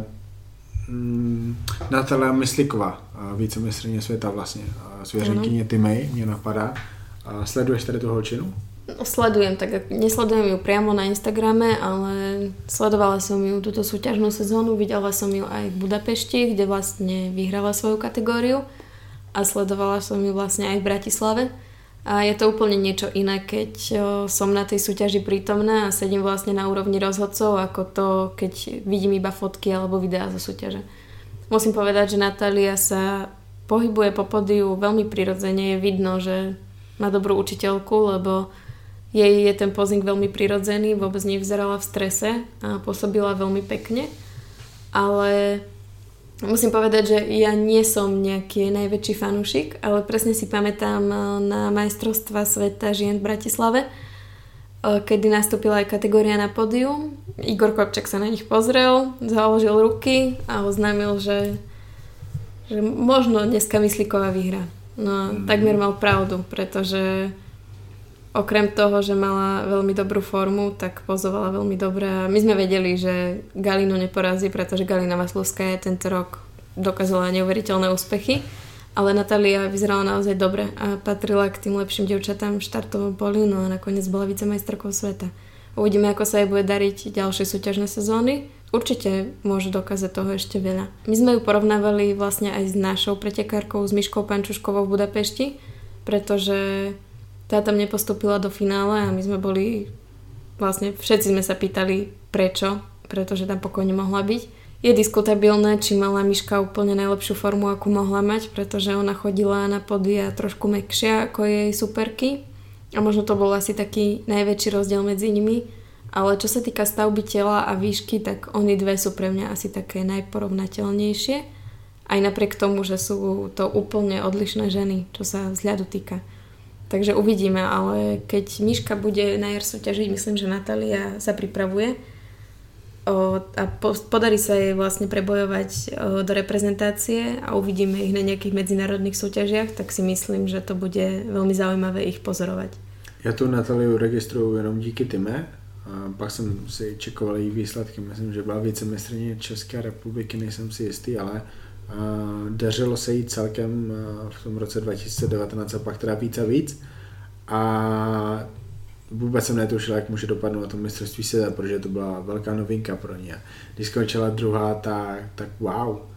mm, Natalia Mysliková, vícemistryně světa vlastně, svěřenkyně Timej, mě napadá. A sleduješ tady tu holčinu? No, sledujem, tak nesledujem ju priamo na Instagrame, ale sledovala som ju túto súťažnú sezónu, videla som ju aj v Budapešti, kde vlastne vyhrala svoju kategóriu a sledovala som ju vlastne aj v Bratislave. A je to úplne niečo iné, keď som na tej súťaži prítomná a sedím vlastne na úrovni rozhodcov, ako to, keď vidím iba fotky alebo videá zo súťaže. Musím povedať, že Natália sa pohybuje po pódiu veľmi prirodzene, je vidno, že má dobrú učiteľku, lebo jej je ten posing veľmi prirodzený, vôbec nevyzerala v strese a pôsobila veľmi pekne. Ale musím povedať, že ja nie som nejaký najväčší fanúšik, ale presne si pamätám na majstrovstvá sveta žien v Bratislave, kedy nastúpila aj kategória na pódium. Igor Kopčak sa na nich pozrel, založil ruky a oznámil, že, že možno dneska Mysliková vyhrá. No mm. takmer mal pravdu, pretože okrem toho, že mala veľmi dobrú formu, tak pozovala veľmi dobre. My sme vedeli, že Galinu neporazí, pretože Galina Maslovská tento rok dokázala neuveriteľné úspechy, ale Natália vyzerala naozaj dobre a patrila k tým lepším dievčatám v štartovom poli, no a nakoniec bola vicemajsterkou sveta. Uvidíme, ako sa jej bude dariť ďalšie súťažné sezóny. Určite môže dokázať toho ešte veľa. My sme ju porovnávali vlastne aj s našou pretekárkou, s Miškou Pančuškovou v Budapešti, pretože tá tam nepostúpila do finále a my sme boli, vlastne všetci sme sa pýtali prečo, pretože tam pokojne mohla byť. Je diskutabilné, či mala Miška úplne najlepšiu formu, akú mohla mať, pretože ona chodila na pódia trošku mäkšia ako jej superky a možno to bol asi taký najväčší rozdiel medzi nimi, ale čo sa týka stavby tela a výšky, tak oni dve sú pre mňa asi také najporovnateľnejšie, aj napriek tomu, že sú to úplne odlišné ženy, čo sa vzhľadu týka. Takže uvidíme, ale keď Miška bude na jar súťažiť, myslím, že Natália sa pripravuje o, a po, podarí sa jej vlastne prebojovať o, do reprezentácie a uvidíme ich na nejakých medzinárodných súťažiach, tak si myslím, že to bude veľmi zaujímavé ich pozorovať. Já tu Natáliu registruju jenom díky Time, a pak jsem si čekoval její výsledky, myslím, že byla vicemistryně České republiky, nejsem si jistý, ale Uh, dařilo se jí celkem uh, v tom roce dva tisíce devatenáct a pak teda víc a víc a vůbec jsem netušil, jak může dopadnout na tom mistrovství světa, protože to byla velká novinka pro ně. Když skončila druhá, tak, tak wow. Uh,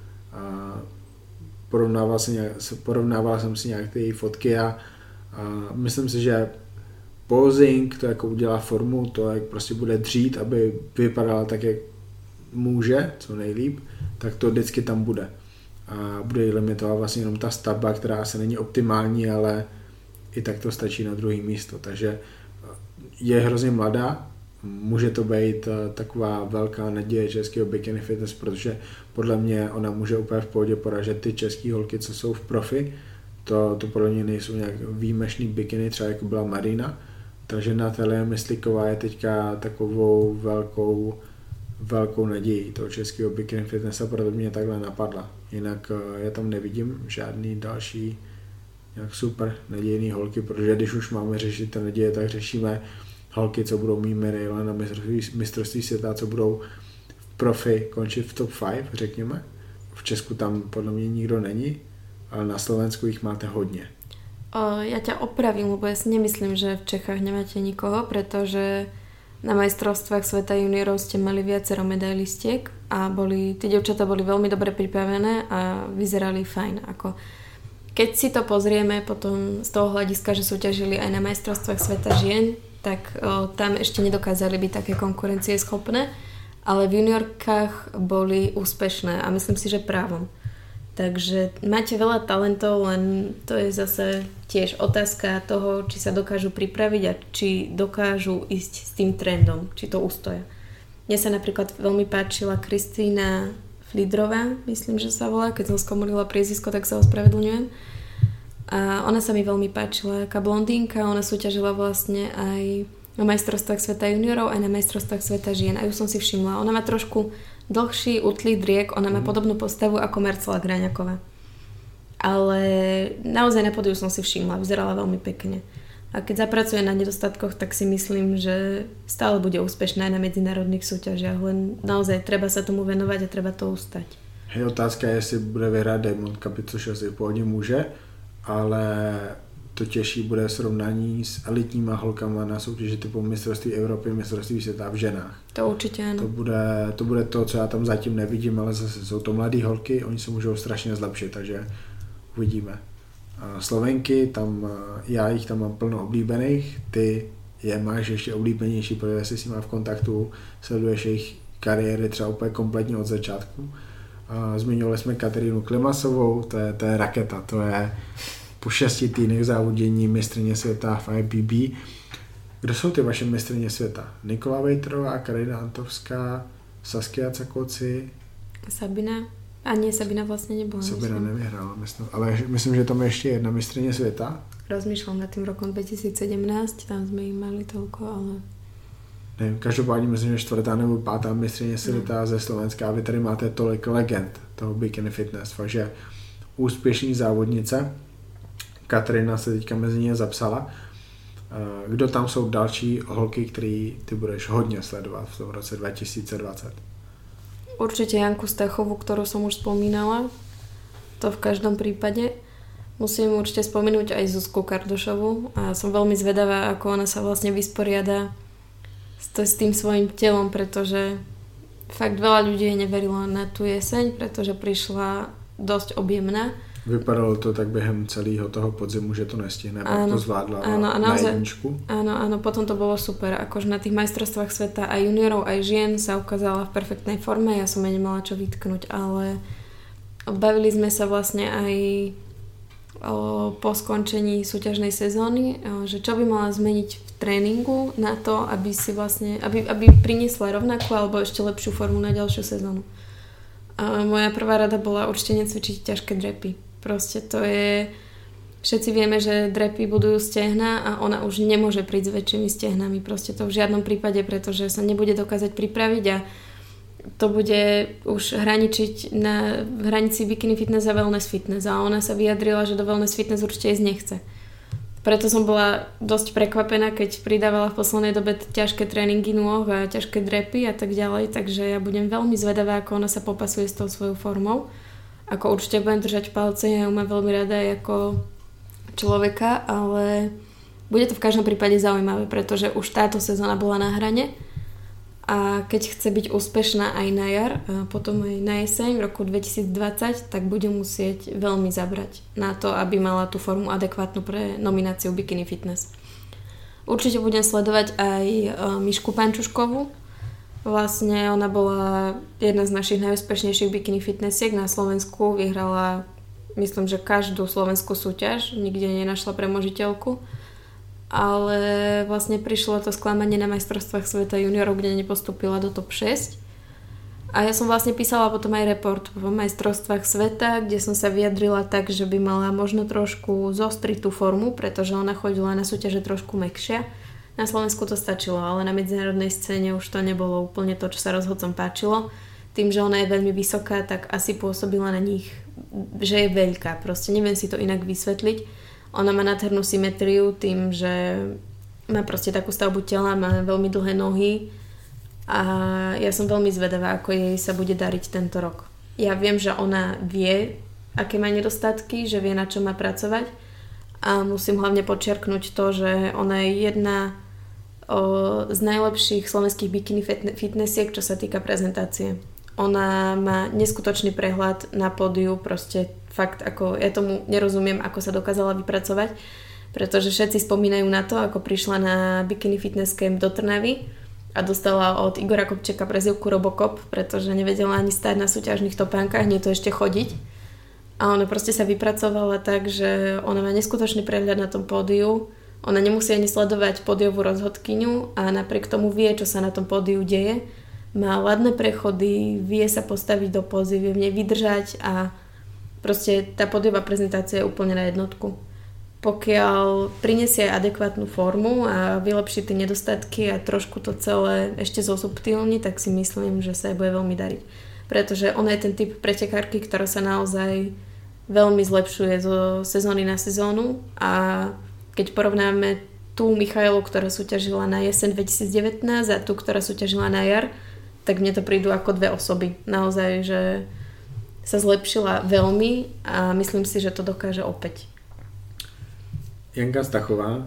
porovnával, si nějak, porovnával jsem si nějak ty její fotky a uh, myslím si, že posing, to jako udělá formu, to jak prostě bude dřít, aby vypadala tak, jak může, co nejlíp, tak to vždycky tam bude. A bude jí limitovat vlastně jenom ta stavba, která se není optimální, ale i tak to stačí na druhé místo. Takže je hrozně mladá, může to být taková velká naděje českého bikini fitness, protože podle mě ona může úplně v pohodě poražet ty české holky, co jsou v profi. To, to podle mě nejsou nějak výjimečný bikiny, třeba jako byla Marina. Takže Natália Mysliková je teďka takovou velkou velkou nadějí toho českého bikini fitnessa, proto mě takhle napadla. Jinak já tam nevidím žádný další nějak super nadějný holky, protože když už máme řešit ty naděje, tak řešíme holky, co budou mít medaile na mistrovství, mistrovství světa, co budou v profi končit v top pět, řekněme. V Česku tam podle mě nikdo není, ale na Slovensku jich máte hodně. O, ja ťa opravím, lebo ja si nemyslím, že v Čechách nemáte nikoho, pretože na majstrovstvách sveta juniorov ste mali viacero medailistiek a boli, tie dievčatá boli veľmi dobre pripravené a vyzerali fajn. Ako, keď si to pozrieme potom z toho hľadiska, že súťažili aj na majstrovstvách sveta žien, tak o, tam ešte nedokázali byť také konkurencieschopné, ale v juniorkách boli úspešné a myslím si, že právom. Takže máte veľa talentov, len to je zase tiež otázka toho, či sa dokážu pripraviť a či dokážu ísť s tým trendom, či to ustoja. Mne sa napríklad veľmi páčila Kristína Flidrová, myslím, že sa volá, keď som skomolila priezvisko, tak sa ospravedlňujem. A ona sa mi veľmi páčila, aká blondínka, ona súťažila vlastne aj na majstrovstvách sveta juniorov, aj na majstrovstvách sveta žien. A ju som si všimla. Ona má trošku dlhší, utlý driek, ona má mm. podobnú postavu ako Marcela Graňaková. Ale naozaj na pódiu som si všimla, vyzerala veľmi pekne. A keď zapracuje na nedostatkoch, tak si myslím, že stále bude úspešná aj na medzinárodných súťažiach, len naozaj treba sa tomu venovať a treba to ustať. Hej, otázka je, jestli bude vyhrát Diamond Cup, což asi původně může, ale to těžší bude srovnání s elitníma holkama na soutěži typu mistrovství Evropy, mistrovství světa v ženách. To určitě ano. To bude, to bude to, co já tam zatím nevidím, ale zase jsou to mladé holky, oni se můžou strašně zlepšit, takže uvidíme. Slovenky, tam, já jich tam mám plno oblíbených, ty je máš ještě oblíbenější, protože jsi s nimi v kontaktu, sleduješ jejich kariéry třeba úplně kompletně od začátku. Zmiňovali jsme Kateřinu Klimasovou, to je, to je raketa, to je po šesti týdnech závodění mistryně světa v I B B. Kdo jsou ty vaše mistryně světa? Nikola Vejtrová, Karina Antovská, Saskia Cakoci? Sabina. A nie, Sabina vlastne nebola. Sabina nevyhrala, myslím. Ale myslím, že tam je ešte jedna mistryně světa. Rozmýšľam nad tým rokom dvetisícsedemnásť, tam sme ich mali toľko, ale... Nevím, každopádně myslím, že čtvrtá nebo pátá mistryně světa no. ze Slovenska a vy tady máte tolik legend toho bikini fitness, takže úspěšný závodnice. Kateřina se teďka mezi ně zapsala. Kdo tam jsou další holky, který ty budeš hodně sledovat v tom roce dva tisíce dvacet? Určite Janku Stachovú, ktorú som už spomínala. To v každom prípade. Musím určite spomenúť aj Zuzku Kardošovú a som veľmi zvedavá, ako ona sa vlastne vysporiada s, to, s tým svojím telom, pretože fakt veľa ľudí neverilo na tú jeseň, pretože prišla dosť objemná. Vypadalo to tak během celého toho podzimu, že to nestihne, pak to zvládla áno, a na naozaj, jedničku. Áno, áno, potom to bolo super. Akože na tých majstrovstvách sveta aj juniorov, aj žien sa ukázala v perfektnej forme. Ja som jej nemala čo vytknúť, ale bavili sme sa vlastne aj o, po skončení súťažnej sezóny, o, že čo by mala zmeniť v tréningu na to, aby si vlastne, aby, aby priniesla rovnakú alebo ešte lepšiu formu na ďalšiu sezónu. A moja prvá rada bola určite necvičiť ťažké drepy. Proste to je... Všetci vieme, že drepy budujú stehna a ona už nemôže prísť s väčšími stehnami. Proste to v žiadnom prípade, pretože sa nebude dokázať pripraviť a to bude už hraničiť na hranici bikini fitness a wellness fitness. A ona sa vyjadrila, že do wellness fitness určite ísť nechce. Preto som bola dosť prekvapená, keď pridávala v poslednej dobe ťažké tréningy nôh a ťažké drepy a tak ďalej. Takže ja budem veľmi zvedavá, ako ona sa popasuje s tou svojou formou. Ako určite budem držať palce, ja ju mám veľmi rada aj ako človeka, ale bude to v každom prípade zaujímavé, pretože už táto sezóna bola na hrane a keď chce byť úspešná aj na jar, a potom aj na jeseň v roku dvetisícdvadsať, tak bude musieť veľmi zabrať na to, aby mala tú formu adekvátnu pre nomináciu Bikini Fitness. Určite budem sledovať aj Mišku Pančuškovú. Vlastne ona bola jedna z našich najúspešnejších bikini fitnessiek na Slovensku. Vyhrala, myslím, že každú slovenskú súťaž. Nikde nenašla premožiteľku. Ale vlastne prišlo to sklamanie na majstrovstvách sveta juniorov, kde nepostúpila do top šesť. A ja som vlastne písala potom aj report vo majstrovstvách sveta, kde som sa vyjadrila tak, že by mala možno trošku zostriť tú formu, pretože ona chodila na súťaže trošku mäkšia. Na Slovensku to stačilo, ale na medzinárodnej scéne už to nebolo úplne to, čo sa rozhodcom páčilo. Tým, že ona je veľmi vysoká, tak asi pôsobila na nich, že je veľká. Proste neviem si to inak vysvetliť. Ona má nádhernú symetriu tým, že má proste takú stavbu tela, má veľmi dlhé nohy a ja som veľmi zvedavá, ako jej sa bude dariť tento rok. Ja viem, že ona vie, aké má nedostatky, že vie, na čo má pracovať a musím hlavne podčiarknúť to, že ona je jedna z najlepších slovenských bikini fitnessiek, čo sa týka prezentácie. Ona má neskutočný prehľad na pódiu, proste fakt, ako ja tomu nerozumiem, ako sa dokázala vypracovať, pretože všetci spomínajú na to, ako prišla na Bikini Fitness Camp do Trnavy a dostala od Igora Kopčeka prezývku Robocop, pretože nevedela ani stáť na súťažných topánkach, nie to ešte chodiť. A ona proste sa vypracovala tak, že ona má neskutočný prehľad na tom pódiu. Ona nemusí ani sledovať pódiovú rozhodkyňu a napriek tomu vie, čo sa na tom pódiu deje má ladné prechody, vie sa postaviť do pózy, vie v nej vydržať a proste tá podiová prezentácia je úplne na jednotku. Pokiaľ prinesie adekvátnu formu a vylepší tie nedostatky a trošku to celé ešte zosubtilní, tak si myslím, že sa jej bude veľmi dariť. Pretože ona je ten typ pretekárky, ktorá sa naozaj veľmi zlepšuje zo sezóny na sezónu a keď porovnáme tú Michailu, ktorá súťažila na jeseň dvetisícdevätnásť a tú, ktorá súťažila na jar, tak mne to prídu ako dve osoby. Naozaj, že sa zlepšila veľmi a myslím si, že to dokáže opäť. Janka Stachová,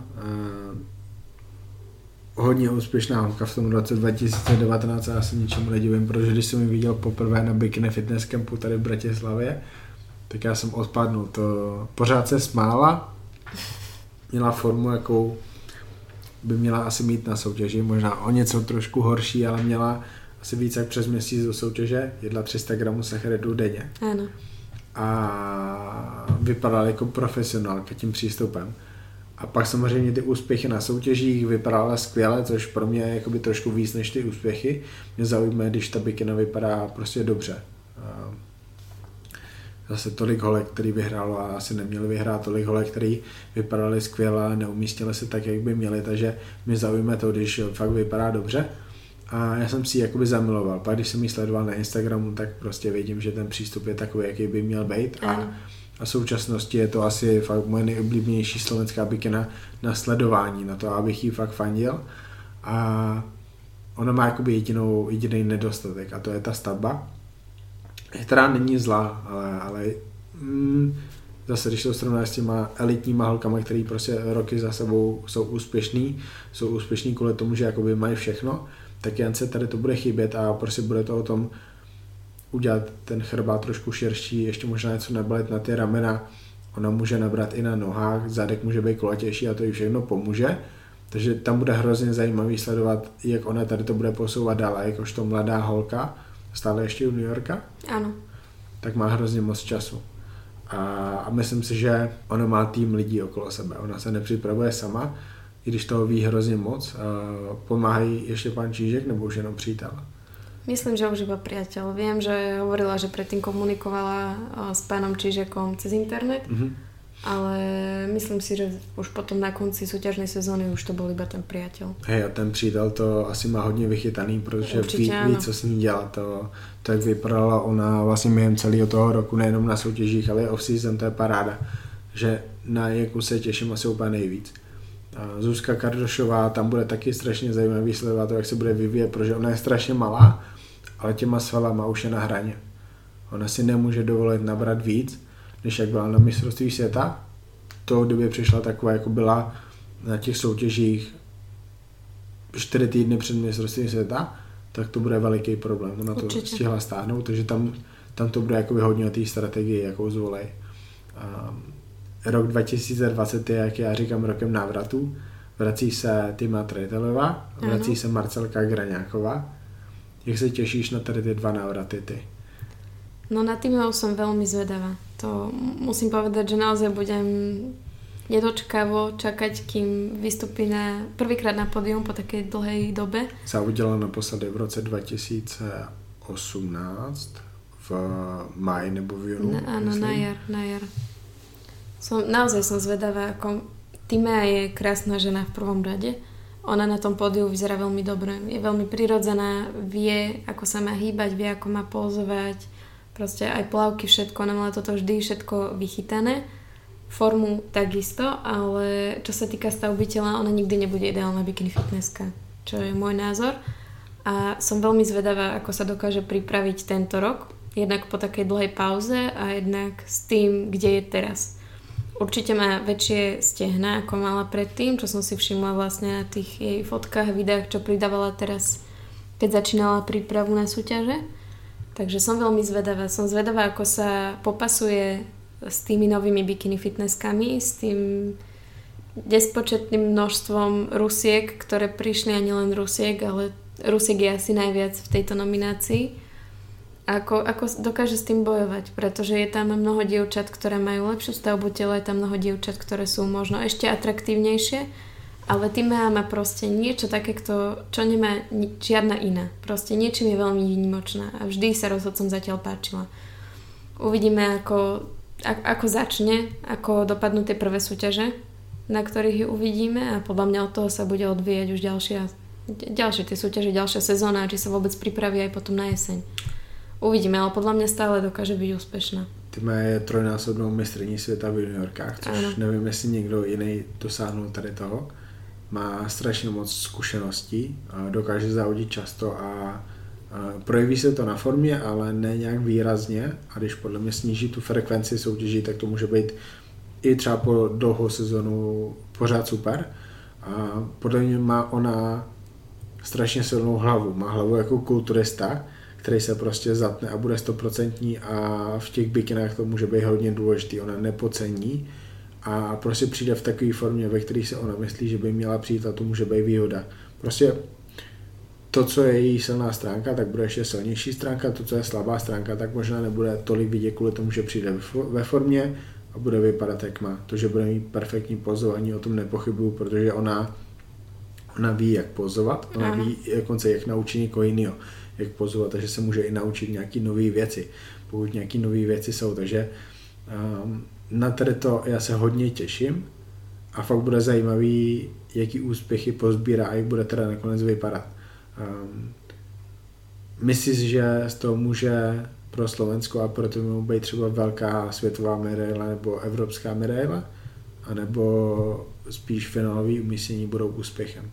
hodně úspěšná holka v tom roce dva tisíce devatenáct a já se ničemu nedivím, protože když jsem ji viděl poprvé na Bikini Fitness Campu tady v Bratislavě, tak já jsem odpadnul. To pořád se smála, měla formu, jakou by měla asi mít na soutěži, možná o něco trošku horší, ale měla asi víc jak přes měsíc do soutěže, jedla tři sta gramů sacharidů denně. Ano. A vypadala jako profesionálka tím přístupem. A pak samozřejmě ty úspěchy na soutěžích vypadaly skvěle, což pro mě je jakoby trošku víc než ty úspěchy. Mě zaujíme, když ta bikina vypadá prostě dobře. Zase tolik holek, který vyhrálo a asi neměli vyhrát, tolik holek, který vypadali skvěle a neumístili se tak, jak by měli, takže mě zaujíme to, když fakt vypadá dobře. A já jsem si ji jakoby zamiloval. Pak když jsem ji sledoval na Instagramu, tak prostě vidím, že ten přístup je takový, jaký by měl být. A, a v současnosti je to asi fakt moje nejoblíbenější slovenská bikina na sledování, na to, abych jí fakt fandil. A ona má jakoby jedinou, jediný nedostatek a to je ta stavba, která není zlá, ale, ale mm, zase, když to srovnáš s těma elitníma holkama, který prostě roky za sebou jsou úspěšný, jsou úspěšní kvůli tomu, že jakoby mají všechno, tak jen se tady to bude chybět a prostě bude to o tom udělat ten chrbát trošku širší, ještě možná něco nabalit na ty ramena, ona může nabrat i na nohách, zadek může být kulatější a to jí všechno pomůže, takže tam bude hrozně zajímavý sledovat, jak ona tady to bude posouvat dál, a jakožto mladá holka, stále ještě juniorka, ano, tak má hrozně moc času. A, a myslím si, že ona má tým lidí okolo sebe, ona se nepřipravuje sama, i když toho ví hrozně moc. Pomáhají ještě pán Čížek nebo už jenom přítel? Myslím, že už iba priateľ. Viem, že hovorila, že predtým komunikovala s pánom Čížekom cez internet, mm-hmm. ale myslím si, že už potom na konci súťažnej sezóny už to bol iba ten priateľ. Hej, a ten přítel to asi má hodně vychytaný, protože ví, ví, co s ní dělá. To, to, jak vypadala ona vlastně během celého toho roku, nejenom na soutěžích, ale i off-season, to je paráda. Že na Janku se těším asi úplně nejvíc. Zuzka Kardošová, tam bude taky strašně zajímavý sledovat to, jak se bude vyvíjet, protože ona je strašně malá, ale těma svalama už je na hraně. Ona si nemůže dovolit nabrat víc, než jak byla na mistrovství světa. To době přišla taková, jako byla na těch soutěžích čtyři týdny před mistrovstvím světa, tak to bude veliký problém. Ona to Určitě. stihla stáhnout, takže tam, tam to bude jako hodně o té strategii, jakou zvolej. Um, Rok dva tisíce dvacet je, jak já říkám, rokem návratů. Vrací se Tima Treitelová, vrací ano. se Marcelka Graňáková. Jak se těšíš na tady ty dva návraty ty? No na Timov som veľmi zvedavá. To musím povedať, že naozaj budem nedočkavo čakať, kým vystupí na, prvýkrát na pódium po takej dlhej dobe. Závodila naposledy v roce dva tisíce osmnáct v máji nebo v júnu. Áno, na jar, na jar. Som, naozaj som zvedavá, ako Timea je krásna žena v prvom rade. Ona na tom pódiu vyzerá veľmi dobre. Je veľmi prirodzená, vie, ako sa má hýbať, vie, ako má pózovať. Proste aj plavky, všetko. Ona mala toto vždy všetko vychytané. Formu takisto, ale čo sa týka stavby tela, ona nikdy nebude ideálna bikini fitnesska, čo je môj názor. A som veľmi zvedavá, ako sa dokáže pripraviť tento rok. Jednak po takej dlhej pauze a jednak s tým, kde je teraz. Určite má väčšie stehná, ako mala predtým, čo som si všimla vlastne na tých jej fotkách, videách, čo pridávala teraz, keď začínala prípravu na súťaže. Takže som veľmi zvedavá. Som zvedavá, ako sa popasuje s tými novými bikini fitnesskami, s tým nespočetným množstvom Rusiek, ktoré prišli, a nielen Rusiek, ale Rusiek je asi najviac v tejto nominácii. Ako, ako dokáže s tým bojovať, pretože je tam mnoho dievčat, ktoré majú lepšiu stavbu tela, je tam mnoho dievčat, ktoré sú možno ešte atraktívnejšie Ale Timea má proste niečo také, čo nemá ni- žiadna iná. Proste niečím je veľmi výnimočná a vždy sa rozhodcom zatiaľ páčila. Uvidíme, ako, ako začne, ako dopadnú tie prvé súťaže, na ktorých ju uvidíme a podľa mňa od toho sa bude odvíjať už ďalšia, ďalšie tie súťaže, ďalšia sezóna, či sa vôbec pripraví aj potom na jeseň. Uvidíme, ale podľa mňa stále dokáže byť úspešná. Týma je trojnásobnou mistryní světa v juniorkách, což ano. Nevím, jestli někdo jiný dosáhnul tady toho. Má strašně moc zkušeností, dokáže závodit často a projeví se to na formě, ale ne nějak výrazně a když podle mě sníží tu frekvenci soutěží, tak to může být i třeba po dlouhou sezonu pořád super. A podle mě má ona strašně silnou hlavu, má hlavu jako kulturista, který se prostě zatne a bude stoprocentní a v těch bikinách to může být hodně důležitý, ona nepocení a prostě přijde v takové formě, ve které se ona myslí, že by měla přijít a to může být výhoda. Prostě to, co je její silná stránka, tak bude ještě silnější stránka, to, co je slabá stránka, tak možná nebude tolik vidět kvůli tomu, že přijde ve formě a bude vypadat jak má. To, že bude mít perfektní pozování, o tom nepochybuju, protože ona, ona ví, jak pozovat, ona Aha. ví dokonce, jak naučit někoho jiného, jak pozovat, takže se může i naučit nějaký nové věci, pokud nějaký nové věci jsou, takže um, na tady to já se hodně těším a fakt bude zajímavý, jaký úspěchy pozbírá a jak bude teda nakonec vypadat. Um, myslíš, že z toho může pro Slovensko a pro tomu být třeba velká světová medaile nebo evropská medaile, anebo spíš finálový umístění budou úspěchem?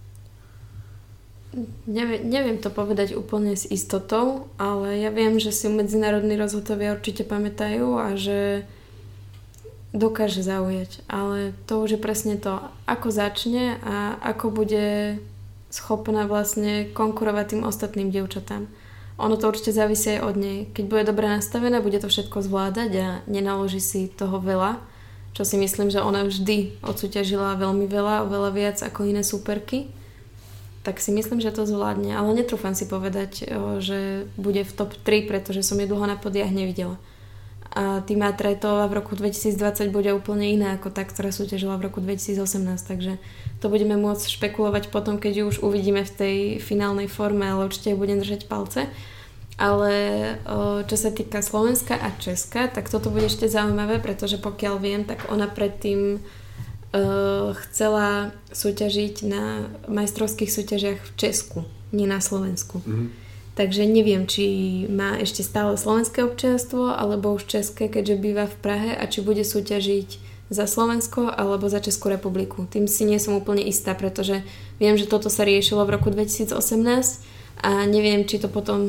Neviem, neviem to povedať úplne s istotou, ale ja viem, že si medzinárodní rozhodcovia určite pamätajú a že dokáže zaujať. Ale to už je presne to, ako začne a ako bude schopná vlastne konkurovať tým ostatným dievčatám. Ono to určite závisí aj od nej. Keď bude dobre nastavená, bude to všetko zvládať a nenaloží si toho veľa, čo si myslím, že ona vždy odsúťažila veľmi veľa, oveľa viac ako iné súperky. Tak si myslím, že to zvládne, ale netrúfam si povedať, že bude v top tri, pretože som ju dlho na podiach nevidela. A Tima Trajtová v roku dvetisícdvadsať bude úplne iná ako tá, ktorá súťažila v roku dvetisícosemnásť, takže to budeme môcť špekulovať potom, keď ju už uvidíme v tej finálnej forme, ale určite ju budem držať palce. Ale čo sa týka Slovenska a Česka, tak toto bude ešte zaujímavé, pretože pokiaľ viem, tak ona predtým Uh, chcela súťažiť na majstrovských súťažiach v Česku, nie na Slovensku. Mm-hmm. Takže neviem, či má ešte stále slovenské občianstvo alebo už české, keďže býva v Prahe a či bude súťažiť za Slovensko alebo za Českú republiku. Tým si nie som úplne istá, pretože viem, že toto sa riešilo v roku dvetisícosemnásť a neviem, či to potom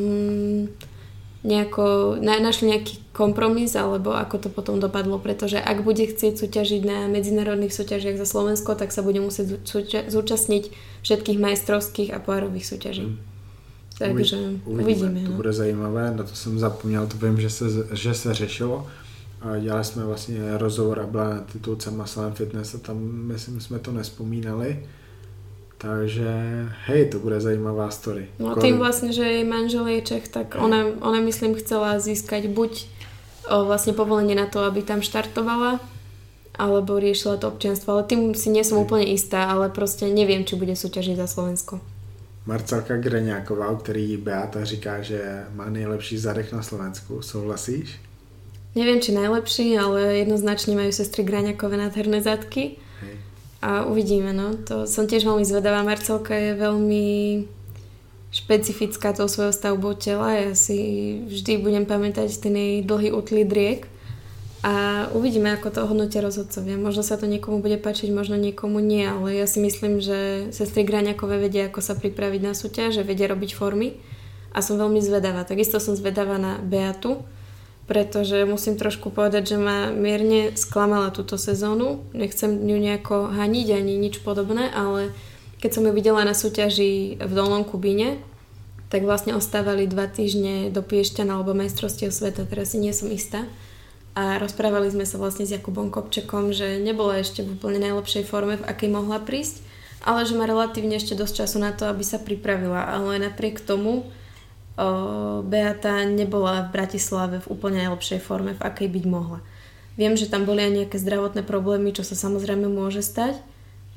nejako našli nejaký kompromis alebo ako to potom dopadlo, pretože ak bude chcieť súťažiť na medzinárodných súťažiach za Slovensko, tak sa bude musieť zúča- zúčastniť všetkých majstrovských a pohárových súťaží. Hmm. Takže uvidíme. uvidíme to no. bude zajímavé, na to jsem zapomněl, to vím, že se, že se řešilo. A dělali jsme vlastně rozhovor a byla na titulce Slam Fitness a tam myslím, jsme to nespomínali. Takže hej, to bude zajímavá story. No tým vlastne, že jej manžel je Čech, tak ona, ona myslím chcela získať buď o, vlastne povolenie na to, aby tam štartovala, alebo riešila to občianstvo, ale tým si nie som hej. úplne istá, ale proste neviem, či bude súťažiť za Slovensko. Marcelka Greňáková, u který Beata říká, že má nejlepší zadek na Slovensku, souhlasíš? Neviem, či najlepší, ale jednoznačne majú sestry Greňákové nádherné zadky. Hej. A uvidíme, no. To som tiež veľmi zvedavá. Marcelka je veľmi špecifická tou svojou stavbou tela. Ja si vždy budem pamätať ten jej dlhý utlý driek. A uvidíme, ako to hodnotia rozhodcovia. Možno sa to niekomu bude páčiť, možno niekomu nie, ale ja si myslím, že sestry Graňakové vedia, ako sa pripraviť na súťaž, že vedia robiť formy. A som veľmi zvedavá. Takisto som zvedavá na Beatu, pretože musím trošku povedať, že ma mierne sklamala túto sezónu. Nechcem ju nejako haniť ani nič podobné, ale keď som ju videla na súťaži v Dolnom Kubíne, tak vlastne ostávali dva týždne do Piešťan alebo majstrovstiev sveta, teraz si nie som istá. A rozprávali sme sa vlastne s Jakubom Kopčekom, že nebola ešte v úplne najlepšej forme, v akej mohla prísť, ale že má relatívne ešte dosť času na to, aby sa pripravila. Ale napriek tomu Beata nebola v Bratislave v úplne najlepšej forme, v akej byť mohla. Viem, že tam boli aj nejaké zdravotné problémy, čo sa samozrejme môže stať,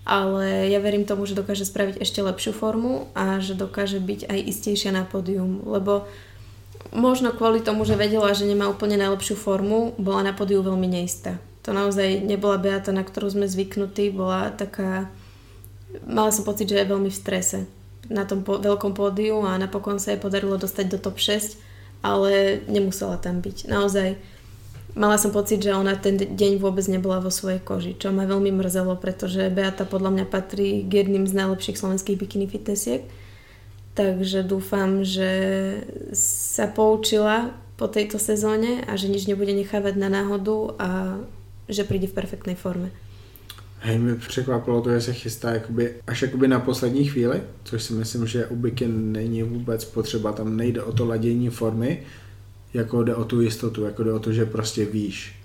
ale ja verím tomu, že dokáže spraviť ešte lepšiu formu a že dokáže byť aj istejšia na pódium, lebo možno kvôli tomu, že vedela, že nemá úplne najlepšiu formu, bola na pódiu veľmi neistá. To naozaj nebola Beata, na ktorú sme zvyknutí, bola taká, mala som pocit, že je veľmi v strese na tom po, veľkom pódiu a napokon sa jej podarilo dostať do top šesť, ale nemusela tam byť. Naozaj mala som pocit, že ona ten deň vôbec nebola vo svojej koži, čo ma veľmi mrzelo, pretože Beata podľa mňa patrí k jedným z najlepších slovenských bikini fitnessiek. Takže dúfam, že sa poučila po tejto sezóne a že nič nebude nechávať na náhodu a že príde v perfektnej forme. Hej, mě překvapilo to, že se chystá jakoby, až jakoby na poslední chvíli, což si myslím, že u bikin není vůbec potřeba, tam nejde o to ladění formy, jako jde o tu jistotu, jako jde o to, že prostě víš.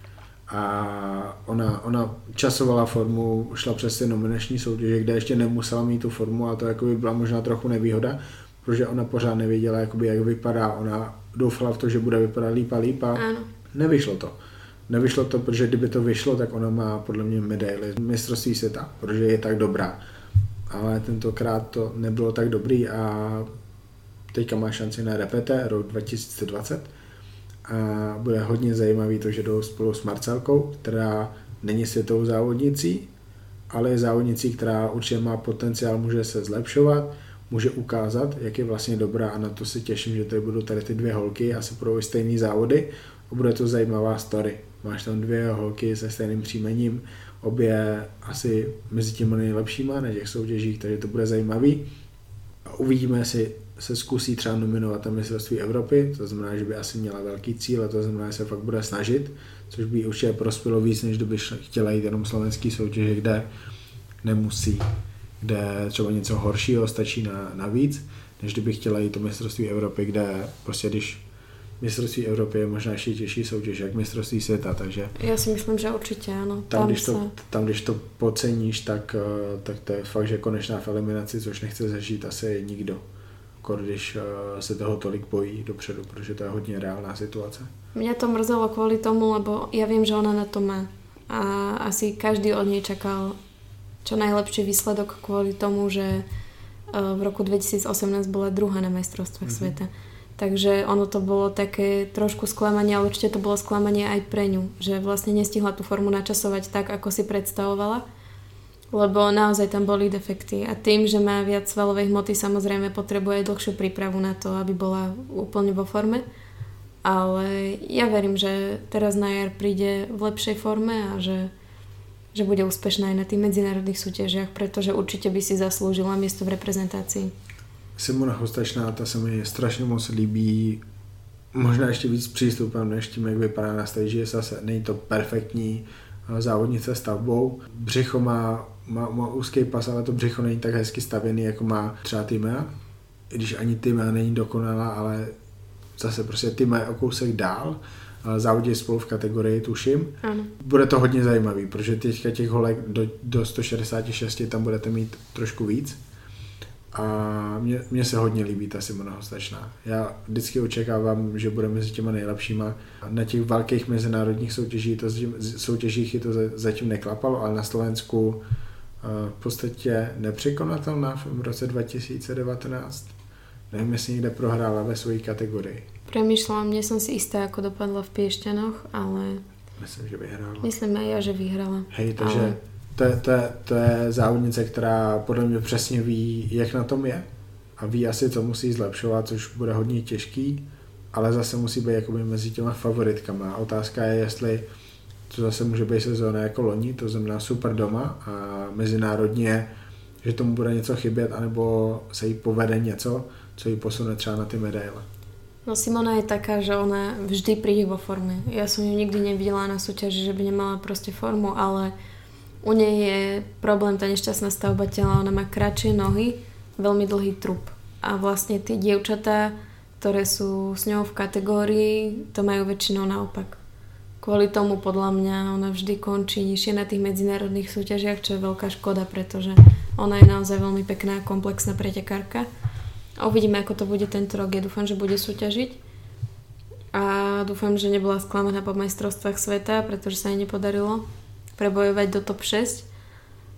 A ona, ona časovala formu, šla přes ty nominační soutěže, kde ještě nemusela mít tu formu a to jakoby byla možná trochu nevýhoda, protože ona pořád nevěděla, jakoby, jak vypadá, ona doufala v to, že bude vypadat líp a líp a ano. Nevyšlo to. Nevyšlo to, protože kdyby to vyšlo, tak ona má podle mě medaili mistrovství světa, protože je tak dobrá. Ale tentokrát to nebylo tak dobrý a teďka má šanci na repete rok dva tisíce dvacet a bude hodně zajímavý to, že jdou spolu s Marcelkou, která není světovou závodnicí, ale je závodnicí, která určitě má potenciál, může se zlepšovat, může ukázat, jak je vlastně dobrá a na to se těším, že tady budou tady ty dvě holky, asi budou stejný závody a bude to zajímavá story. Máš tam dvě holky se stejným příjmením, obě asi mezi těmi nejlepšíma na těch soutěžích, takže to bude zajímavý. A uvidíme, jestli se zkusí třeba nominovat na mistrovství Evropy, to znamená, že by asi měla velký cíl a to znamená, že se fakt bude snažit, což by určitě prospělo víc, než kdyby chtěla jít jenom slovenský soutěže, kde nemusí, kde třeba něco horšího stačí na, na víc, než kdyby chtěla jít do mistrovství Evropy, kde prostě když mistrovství Evropy je možná ještě těžší soutěž, jak mistrovství světa, takže... Já si myslím, že určitě ano. Tam, tam, když, se... to, tam když to podceníš, tak, tak to je fakt, že konečná v eliminaci, což nechce zažít asi nikdo. Když se toho tolik bojí dopředu, protože to je hodně reálná situace. Mňa to mrzelo kvôli tomu, lebo ja viem, že ona na to má. A asi každý od nej čakal čo najlepší výsledok kvôli tomu, že v roku dvetisícosemnásť bola druhá na majstrovstvách mm-hmm. sveta. Takže ono to bolo také trošku sklamanie, ale určite to bolo sklamanie aj pre ňu, že vlastne nestihla tú formu načasovať tak, ako si predstavovala, lebo naozaj tam boli defekty a tým, že má viac svalovej hmoty, samozrejme potrebuje aj dlhšiu prípravu na to, aby bola úplne vo forme, ale ja verím, že teraz na jar príde v lepšej forme a že, že bude úspešná aj na tých medzinárodných súťažiach, pretože určite by si zaslúžila miesto v reprezentácii. Simona Hostečná, ta se mi strašně moc líbí, možná ještě víc přístupem, než tím, jak vypadá na stage, zase není to perfektní závodnice stavbou. Břicho má, má, má úzký pas, ale to břicho není tak hezky stavěný, jako má třeba Timea. I když ani Timea není dokonalá, ale zase prostě Timea je o kousek dál. Závodí spolu v kategorii, tuším. Ano. Bude to hodně zajímavý, protože teďka těch holek do, do sto šedesát šest tam budete mít trošku víc. A mně, mně se hodně líbí ta Simona Hostečná. Já vždycky očekávám, že bude mezi těma nejlepšíma. Na těch velkých mezinárodních soutěžích to, soutěžích to zatím neklapalo, ale na Slovensku v podstatě nepřekonatelná v roce dva tisíce devatenáct. Nevím, jestli někde prohrála ve své kategorii. Premýšľam, nie som si istá, ako dopadla v Piešťanoch, ale... Myslím, že vyhrála. Myslím aj ja, že vyhrala. Hej, takže... Ale... To je, to, je, to je závodnice, která podle mě přesně ví, jak na tom je a ví asi, co musí zlepšovat, což bude hodně těžký, ale zase musí být jakoby mezi těma favoritkama. Otázka je, jestli to zase může být sezóna jako loni, to znamená super doma a mezinárodně, že tomu bude něco chybět, anebo se jí povede něco, co jí posune třeba na ty medaile. No Simona je taká, že ona vždy príde vo forme. Ja som ju nikdy nevidela na súťaži, že by nemala proste formu, ale u nej je problém tá nešťastná stavba tela, ona má kratšie nohy, veľmi dlhý trup. A vlastne tie dievčatá, ktoré sú s ňou v kategórii, to majú väčšinou naopak. Kvôli tomu podľa mňa ona vždy končí nižšie na tých medzinárodných súťažiach, čo je veľká škoda, pretože ona je naozaj veľmi pekná, komplexná pretekárka. A uvidíme, ako to bude tento rok. Ja dúfam, že bude súťažiť. A dúfam, že nebola sklamaná po majstrovstvách sveta, pretože sa jej nepodarilo prebojovať do top šesť.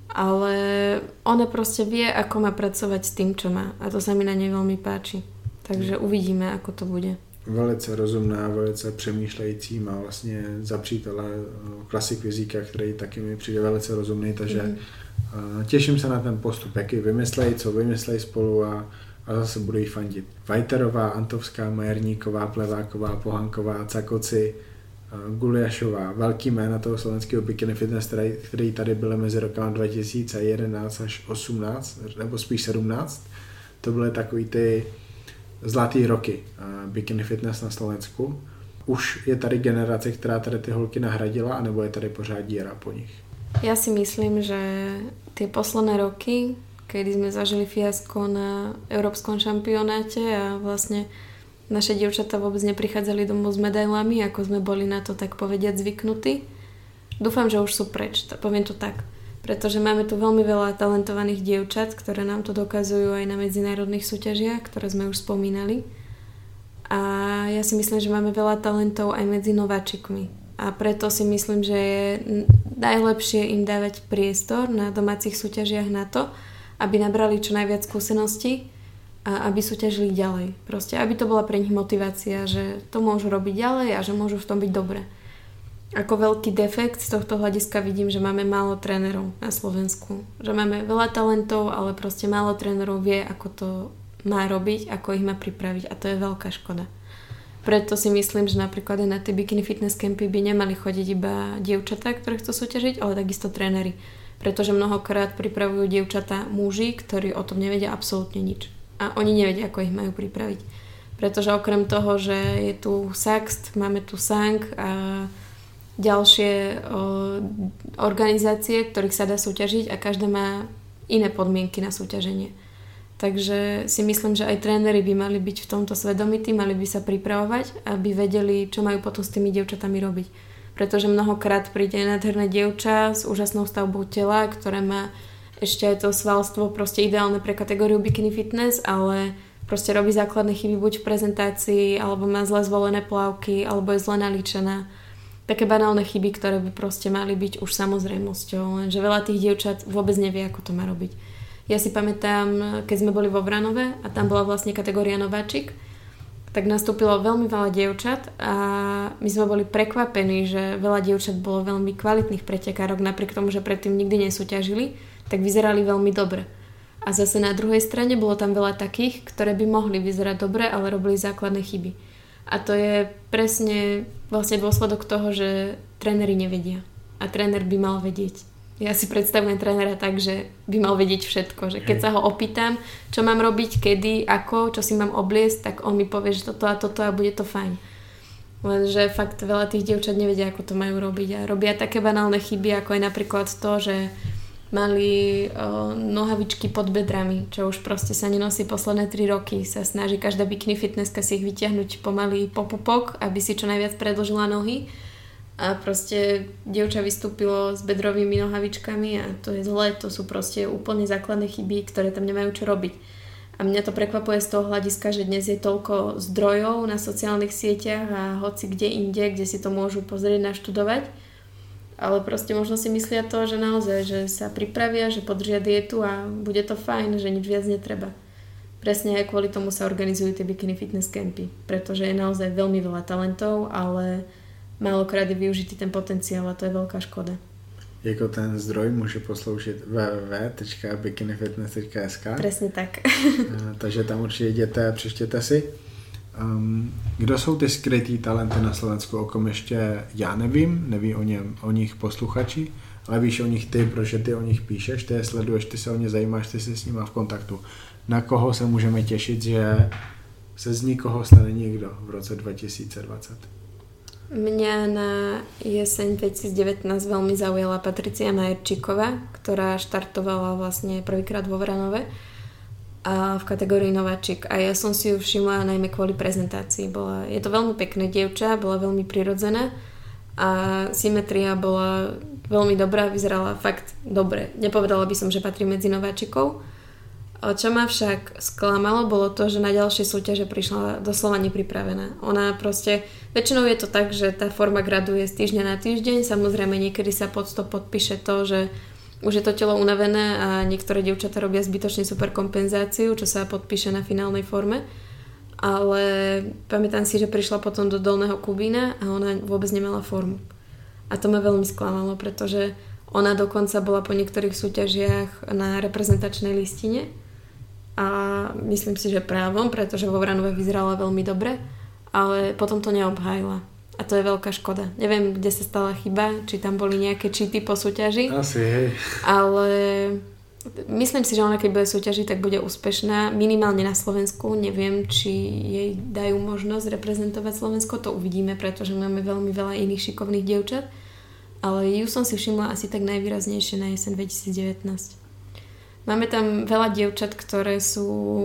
ale ona proste vie, ako má pracovať s tým, čo má. A to sa mi na nej veľmi páči. Takže uvidíme, ako to bude. Velice rozumná, velice přemýšlející, má vlastně za přítele klasik Vizíka, který taky mi přijde velice rozumný, takže mm. těším se na ten postup, jaký vymyslejí, co vymyslejí spolu a, a zase budu jí fandit. Vajterová, Antovská, Majerníková, Pleváková, Pohanková, Cakoci, Guliašová, velký jména toho slovenského bikini fitness, který, který tady byly mezi rokama dva tisíce jedenáct až osmnáct, nebo spíš sedmnáct. To byly takový ty zlatý roky uh, bikini fitness na Slovensku. Už je tady generace, která tady ty holky nahradila, anebo je tady pořád díra po nich? Ja si myslím, že tie posledné roky, kedy sme zažili fiasko na európskom šampionáte a vlastne naše dievčatá vôbec neprichádzali domov s medailami, ako sme boli na to tak povediať zvyknutí. Dúfam, že už sú preč, poviem to tak. Pretože máme tu veľmi veľa talentovaných dievčat, ktoré nám to dokazujú aj na medzinárodných súťažiach, ktoré sme už spomínali. A ja si myslím, že máme veľa talentov aj medzi nováčikmi. A preto si myslím, že je najlepšie im dávať priestor na domácich súťažiach na to, aby nabrali čo najviac skúseností a aby súťažili ďalej. Proste, aby to bola pre nich motivácia, že to môžu robiť ďalej a že môžu v tom byť dobre. Ako veľký defekt z tohto hľadiska vidím, že máme málo trénerov na Slovensku. Že máme veľa talentov, ale proste málo trénerov vie, ako to má robiť, ako ich má pripraviť. A to je veľká škoda. Preto si myslím, že napríklad aj na tie bikini fitness campy by nemali chodiť iba dievčatá, ktoré chcú súťažiť, ale takisto tréneri. Pretože mnohokrát pripravujú dievčatá muži, ktorí o tom nevedia absolútne nič. A oni nevedia, ako ich majú pripraviť. Pretože okrem toho, že je tu Saxt, máme tu Sang a ďalšie o, organizácie, ktorých sa dá súťažiť a každá má iné podmienky na súťaženie. Takže si myslím, že aj tréneri by mali byť v tomto svedomití, mali by sa pripravovať, aby vedeli, čo majú potom s tými dievčatami robiť. Pretože mnohokrát príde nádherné dievča s úžasnou stavbou tela, ktoré má ešte aj to svalstvo proste ideálne pre kategóriu bikini fitness, ale proste robí základné chyby buď v prezentácii, alebo má zle zvolené plavky, alebo je zle nalíčená. Také banálne chyby, ktoré by proste mali byť už samozrejmosťou, lenže veľa tých dievčat vôbec nevie, ako to má robiť. Ja si pamätám, keď sme boli vo Vranove a tam bola vlastne kategória nováčik, tak nastúpilo veľmi veľa dievčat a my sme boli prekvapení, že veľa dievčat bolo veľmi kvalitných pretekárok, napriek tomu, že predtým nikdy nesúťažili, tak vyzerali veľmi dobre. A zase na druhej strane bolo tam veľa takých, ktoré by mohli vyzerať dobre, ale robili základné chyby. A to je presne vlastne dôsledok toho, že tréneri nevedia. A tréner by mal vedieť. Ja si predstavujem trénera tak, že by mal vedieť všetko. Že keď sa ho opýtam, čo mám robiť, kedy, ako, čo si mám obliecť, tak on mi povie, že toto a toto a bude to fajn. Lenže fakt veľa tých dievčat nevedia, ako to majú robiť. A robia také banálne chyby, ako je napríklad to, že mali o, nohavičky pod bedrami, čo už proste sa nenosí posledné tri roky. Sa snaží každá bikini fitnesska si ich vyťahnuť pomaly po pupok, aby si čo najviac predĺžila nohy. A proste dievča vystúpilo s bedrovými nohavičkami a to je zle, to sú proste úplne základné chyby, ktoré tam nemajú čo robiť. A mňa to prekvapuje z toho hľadiska, že dnes je toľko zdrojov na sociálnych sieťach a hoci kde inde, kde si to môžu pozrieť, naštudovať. Ale proste možno si myslia to, že naozaj, že sa pripravia, že podržia dietu a bude to fajn, že nič viac netreba. Presne aj kvôli tomu sa organizujú tie bikini fitness campy, pretože je naozaj veľmi veľa talentov, ale málokrát je využitý ten potenciál a to je veľká škoda. Jako ten zdroj může posloužit w w w tečka bikini fitness tečka es ká. Presne tak. Takže tam určitě jděte a přečtěte si. Um, kdo jsou ty skrytý talenty na Slovensku, o kom ještě já nevím, neví o, něm, o nich posluchači, ale víš o nich ty, protože ty o nich píšeš, ty je sleduješ, ty se o ně zajímáš, ty jsi s nima v kontaktu. Na koho se můžeme těšit, že se z nikoho stane nikdo v roce dva tisíce dvacet? Mňa na jeseň dvetisícdevätnásť veľmi zaujala Patricia Majerčíková, ktorá štartovala vlastne prvýkrát vo Vranove a v kategórii nováčik. A ja som si ju všimla najmä kvôli prezentácii. Bola, je to veľmi pekné dievča, bola veľmi prirodzená a symetria bola veľmi dobrá, vyzerala fakt dobre. Nepovedala by som, že patrí medzi nováčikov. Čo ma však sklamalo, bolo to, že na ďalšie súťaže prišla doslova nepripravená. Ona proste, väčšinou je to tak, že tá forma graduje z týždňa na týždeň, samozrejme niekedy sa pod to podpíše to, že už je to telo unavené a niektoré dievčatá robia zbytočne super kompenzáciu, čo sa podpíše na finálnej forme. Ale pamätám si, že prišla potom do Dolného Kubína a ona vôbec nemala formu. A to ma veľmi sklamalo, pretože ona dokonca bola po niektorých súťažiach na reprezentačnej listine a myslím si, že právom, pretože vo Vranove vyzerala veľmi dobre, ale potom to neobhájila. A to je veľká škoda. Neviem, kde sa stala chyba, či tam boli nejaké cheaty po súťaži. Asi, hej. Ale myslím si, že ona keď bude súťažiť, tak bude úspešná. Minimálne na Slovensku. Neviem, či jej dajú možnosť reprezentovať Slovensko. To uvidíme, pretože máme veľmi veľa iných šikovných dievčat. Ale ju som si všimla asi tak najvýraznejšie na jeseň dvetisícdevätnásť. Máme tam veľa dievčat, ktoré sú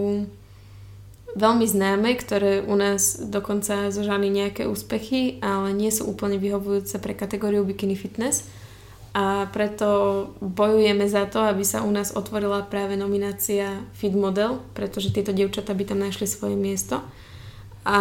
veľmi známe, ktoré u nás dokonca zožali nejaké úspechy, ale nie sú úplne vyhovujúce pre kategóriu bikini fitness. A preto bojujeme za to, aby sa u nás otvorila práve nominácia Fit Model, pretože tieto dievčatá by tam našli svoje miesto. A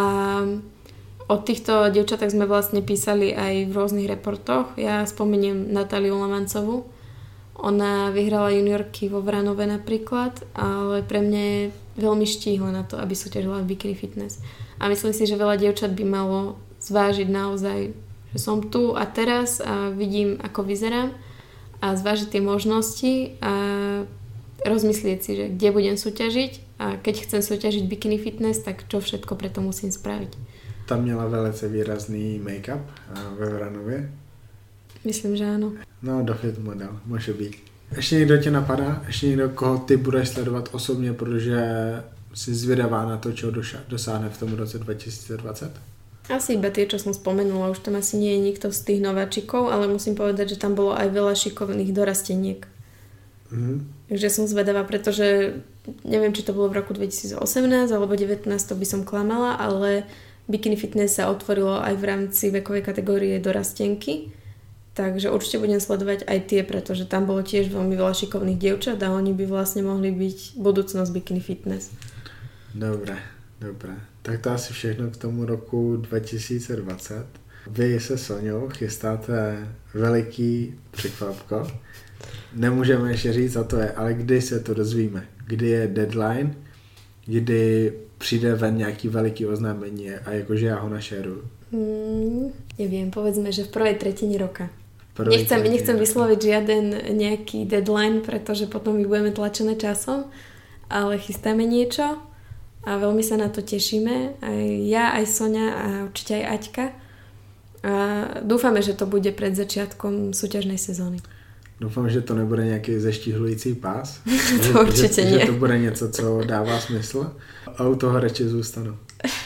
o týchto dievčatách sme vlastne písali aj v rôznych reportoch. Ja spomeniem Natáliu Lamancovú. Ona vyhrala juniorky vo Vranove napríklad, ale pre mňa je veľmi štíhla na to, aby súťažila v bikini fitness. A myslím si, že veľa dievčat by malo zvážiť naozaj, že som tu a teraz a vidím, ako vyzerám a zvážiť tie možnosti a rozmyslieť si, že kde budem súťažiť a keď chcem súťažiť bikini fitness, tak čo všetko preto musím spraviť. Tam měla velice výrazný make-up ve Vranově. Myslím, že áno. No, do Fit Model, může být. Ještě někdo tě napadá? Ještě někdo, koho ty budeš sledovat osobně, protože jsi zvědavá na to, čeho dosáhne v tom roce dvetisícdvadsať? Asi iba tie, čo som spomenula. Už tam asi nie je nikto z tých nováčikov, ale musím povedať, že tam bolo aj veľa šikovných dorasteniek. Mm-hmm. Takže som zvedavá, pretože neviem, či to bolo v roku dvetisícosemnásť alebo devätnásť, to by som klamala, ale bikini fitness sa otvorilo aj v rámci vekovej kategórie dorastenky. Takže určite budem sledovať aj tie, pretože tam bolo tiež veľmi veľa šikovných dievčat a oni by vlastne mohli byť budúcnosť bikini fitness. Dobre, dobre. Tak to asi všechno k tomu roku dvetisícdvadsať. Vy se Soňou chystáte veliký překvapko. Nemůžeme ještě říct, a to je, ale kdy se to dozvíme? Kdy je deadline? Kdy přijde ven nějaký veliký oznámení a jakože já ho našeruju? Hmm, neviem, povedzme, že v prvej tretine roka. Nechcem, nechcem vysloviť žiaden nejaký deadline, pretože potom my budeme tlačené časom, ale chystáme niečo a veľmi sa na to tešíme. Aj ja, aj Soňa a určite aj Aťka. A dúfame, že to bude pred začiatkom súťažnej sezóny. Doufám, že to nebude nějaký zeštíhlující pás. To že, určitě že, nie. Že to bude něco, co dává smysl a u toho radši zůstanu.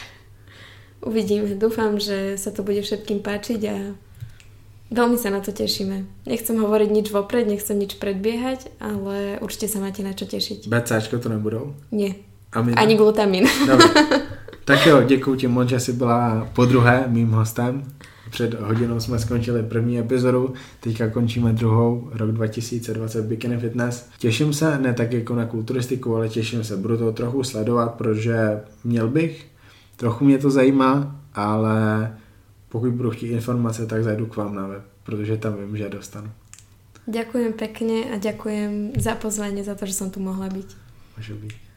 Uvidíme. Dúfam, že sa to bude všetkým páčiť a veľmi sa na to tešíme. Nechcem hovoriť nič vopred, nechcem nič predbiehať, ale určite sa máte na čo tešiť. BCáčko to nebudou? Nie. Amina? Ani glutamin. Dobre. Tak jo, děkuji ti moc, že jsi byla podruhé mým hostem. Před hodinou jsme skončili první epizodu, teďka končíme druhou, rok dva tisíce dvacet Bikini Fitness. Těším se, ne tak jako na kulturistiku, ale těším se, budu to trochu sledovat, protože měl bych, trochu mě to zajímá, ale pokud budu chtít informace, tak zajdu k vám na web, protože tam vím, že je dostanu. Ďakujem pekne a ďakujem za pozvanie, za to, že som tu mohla byť. Môže byť.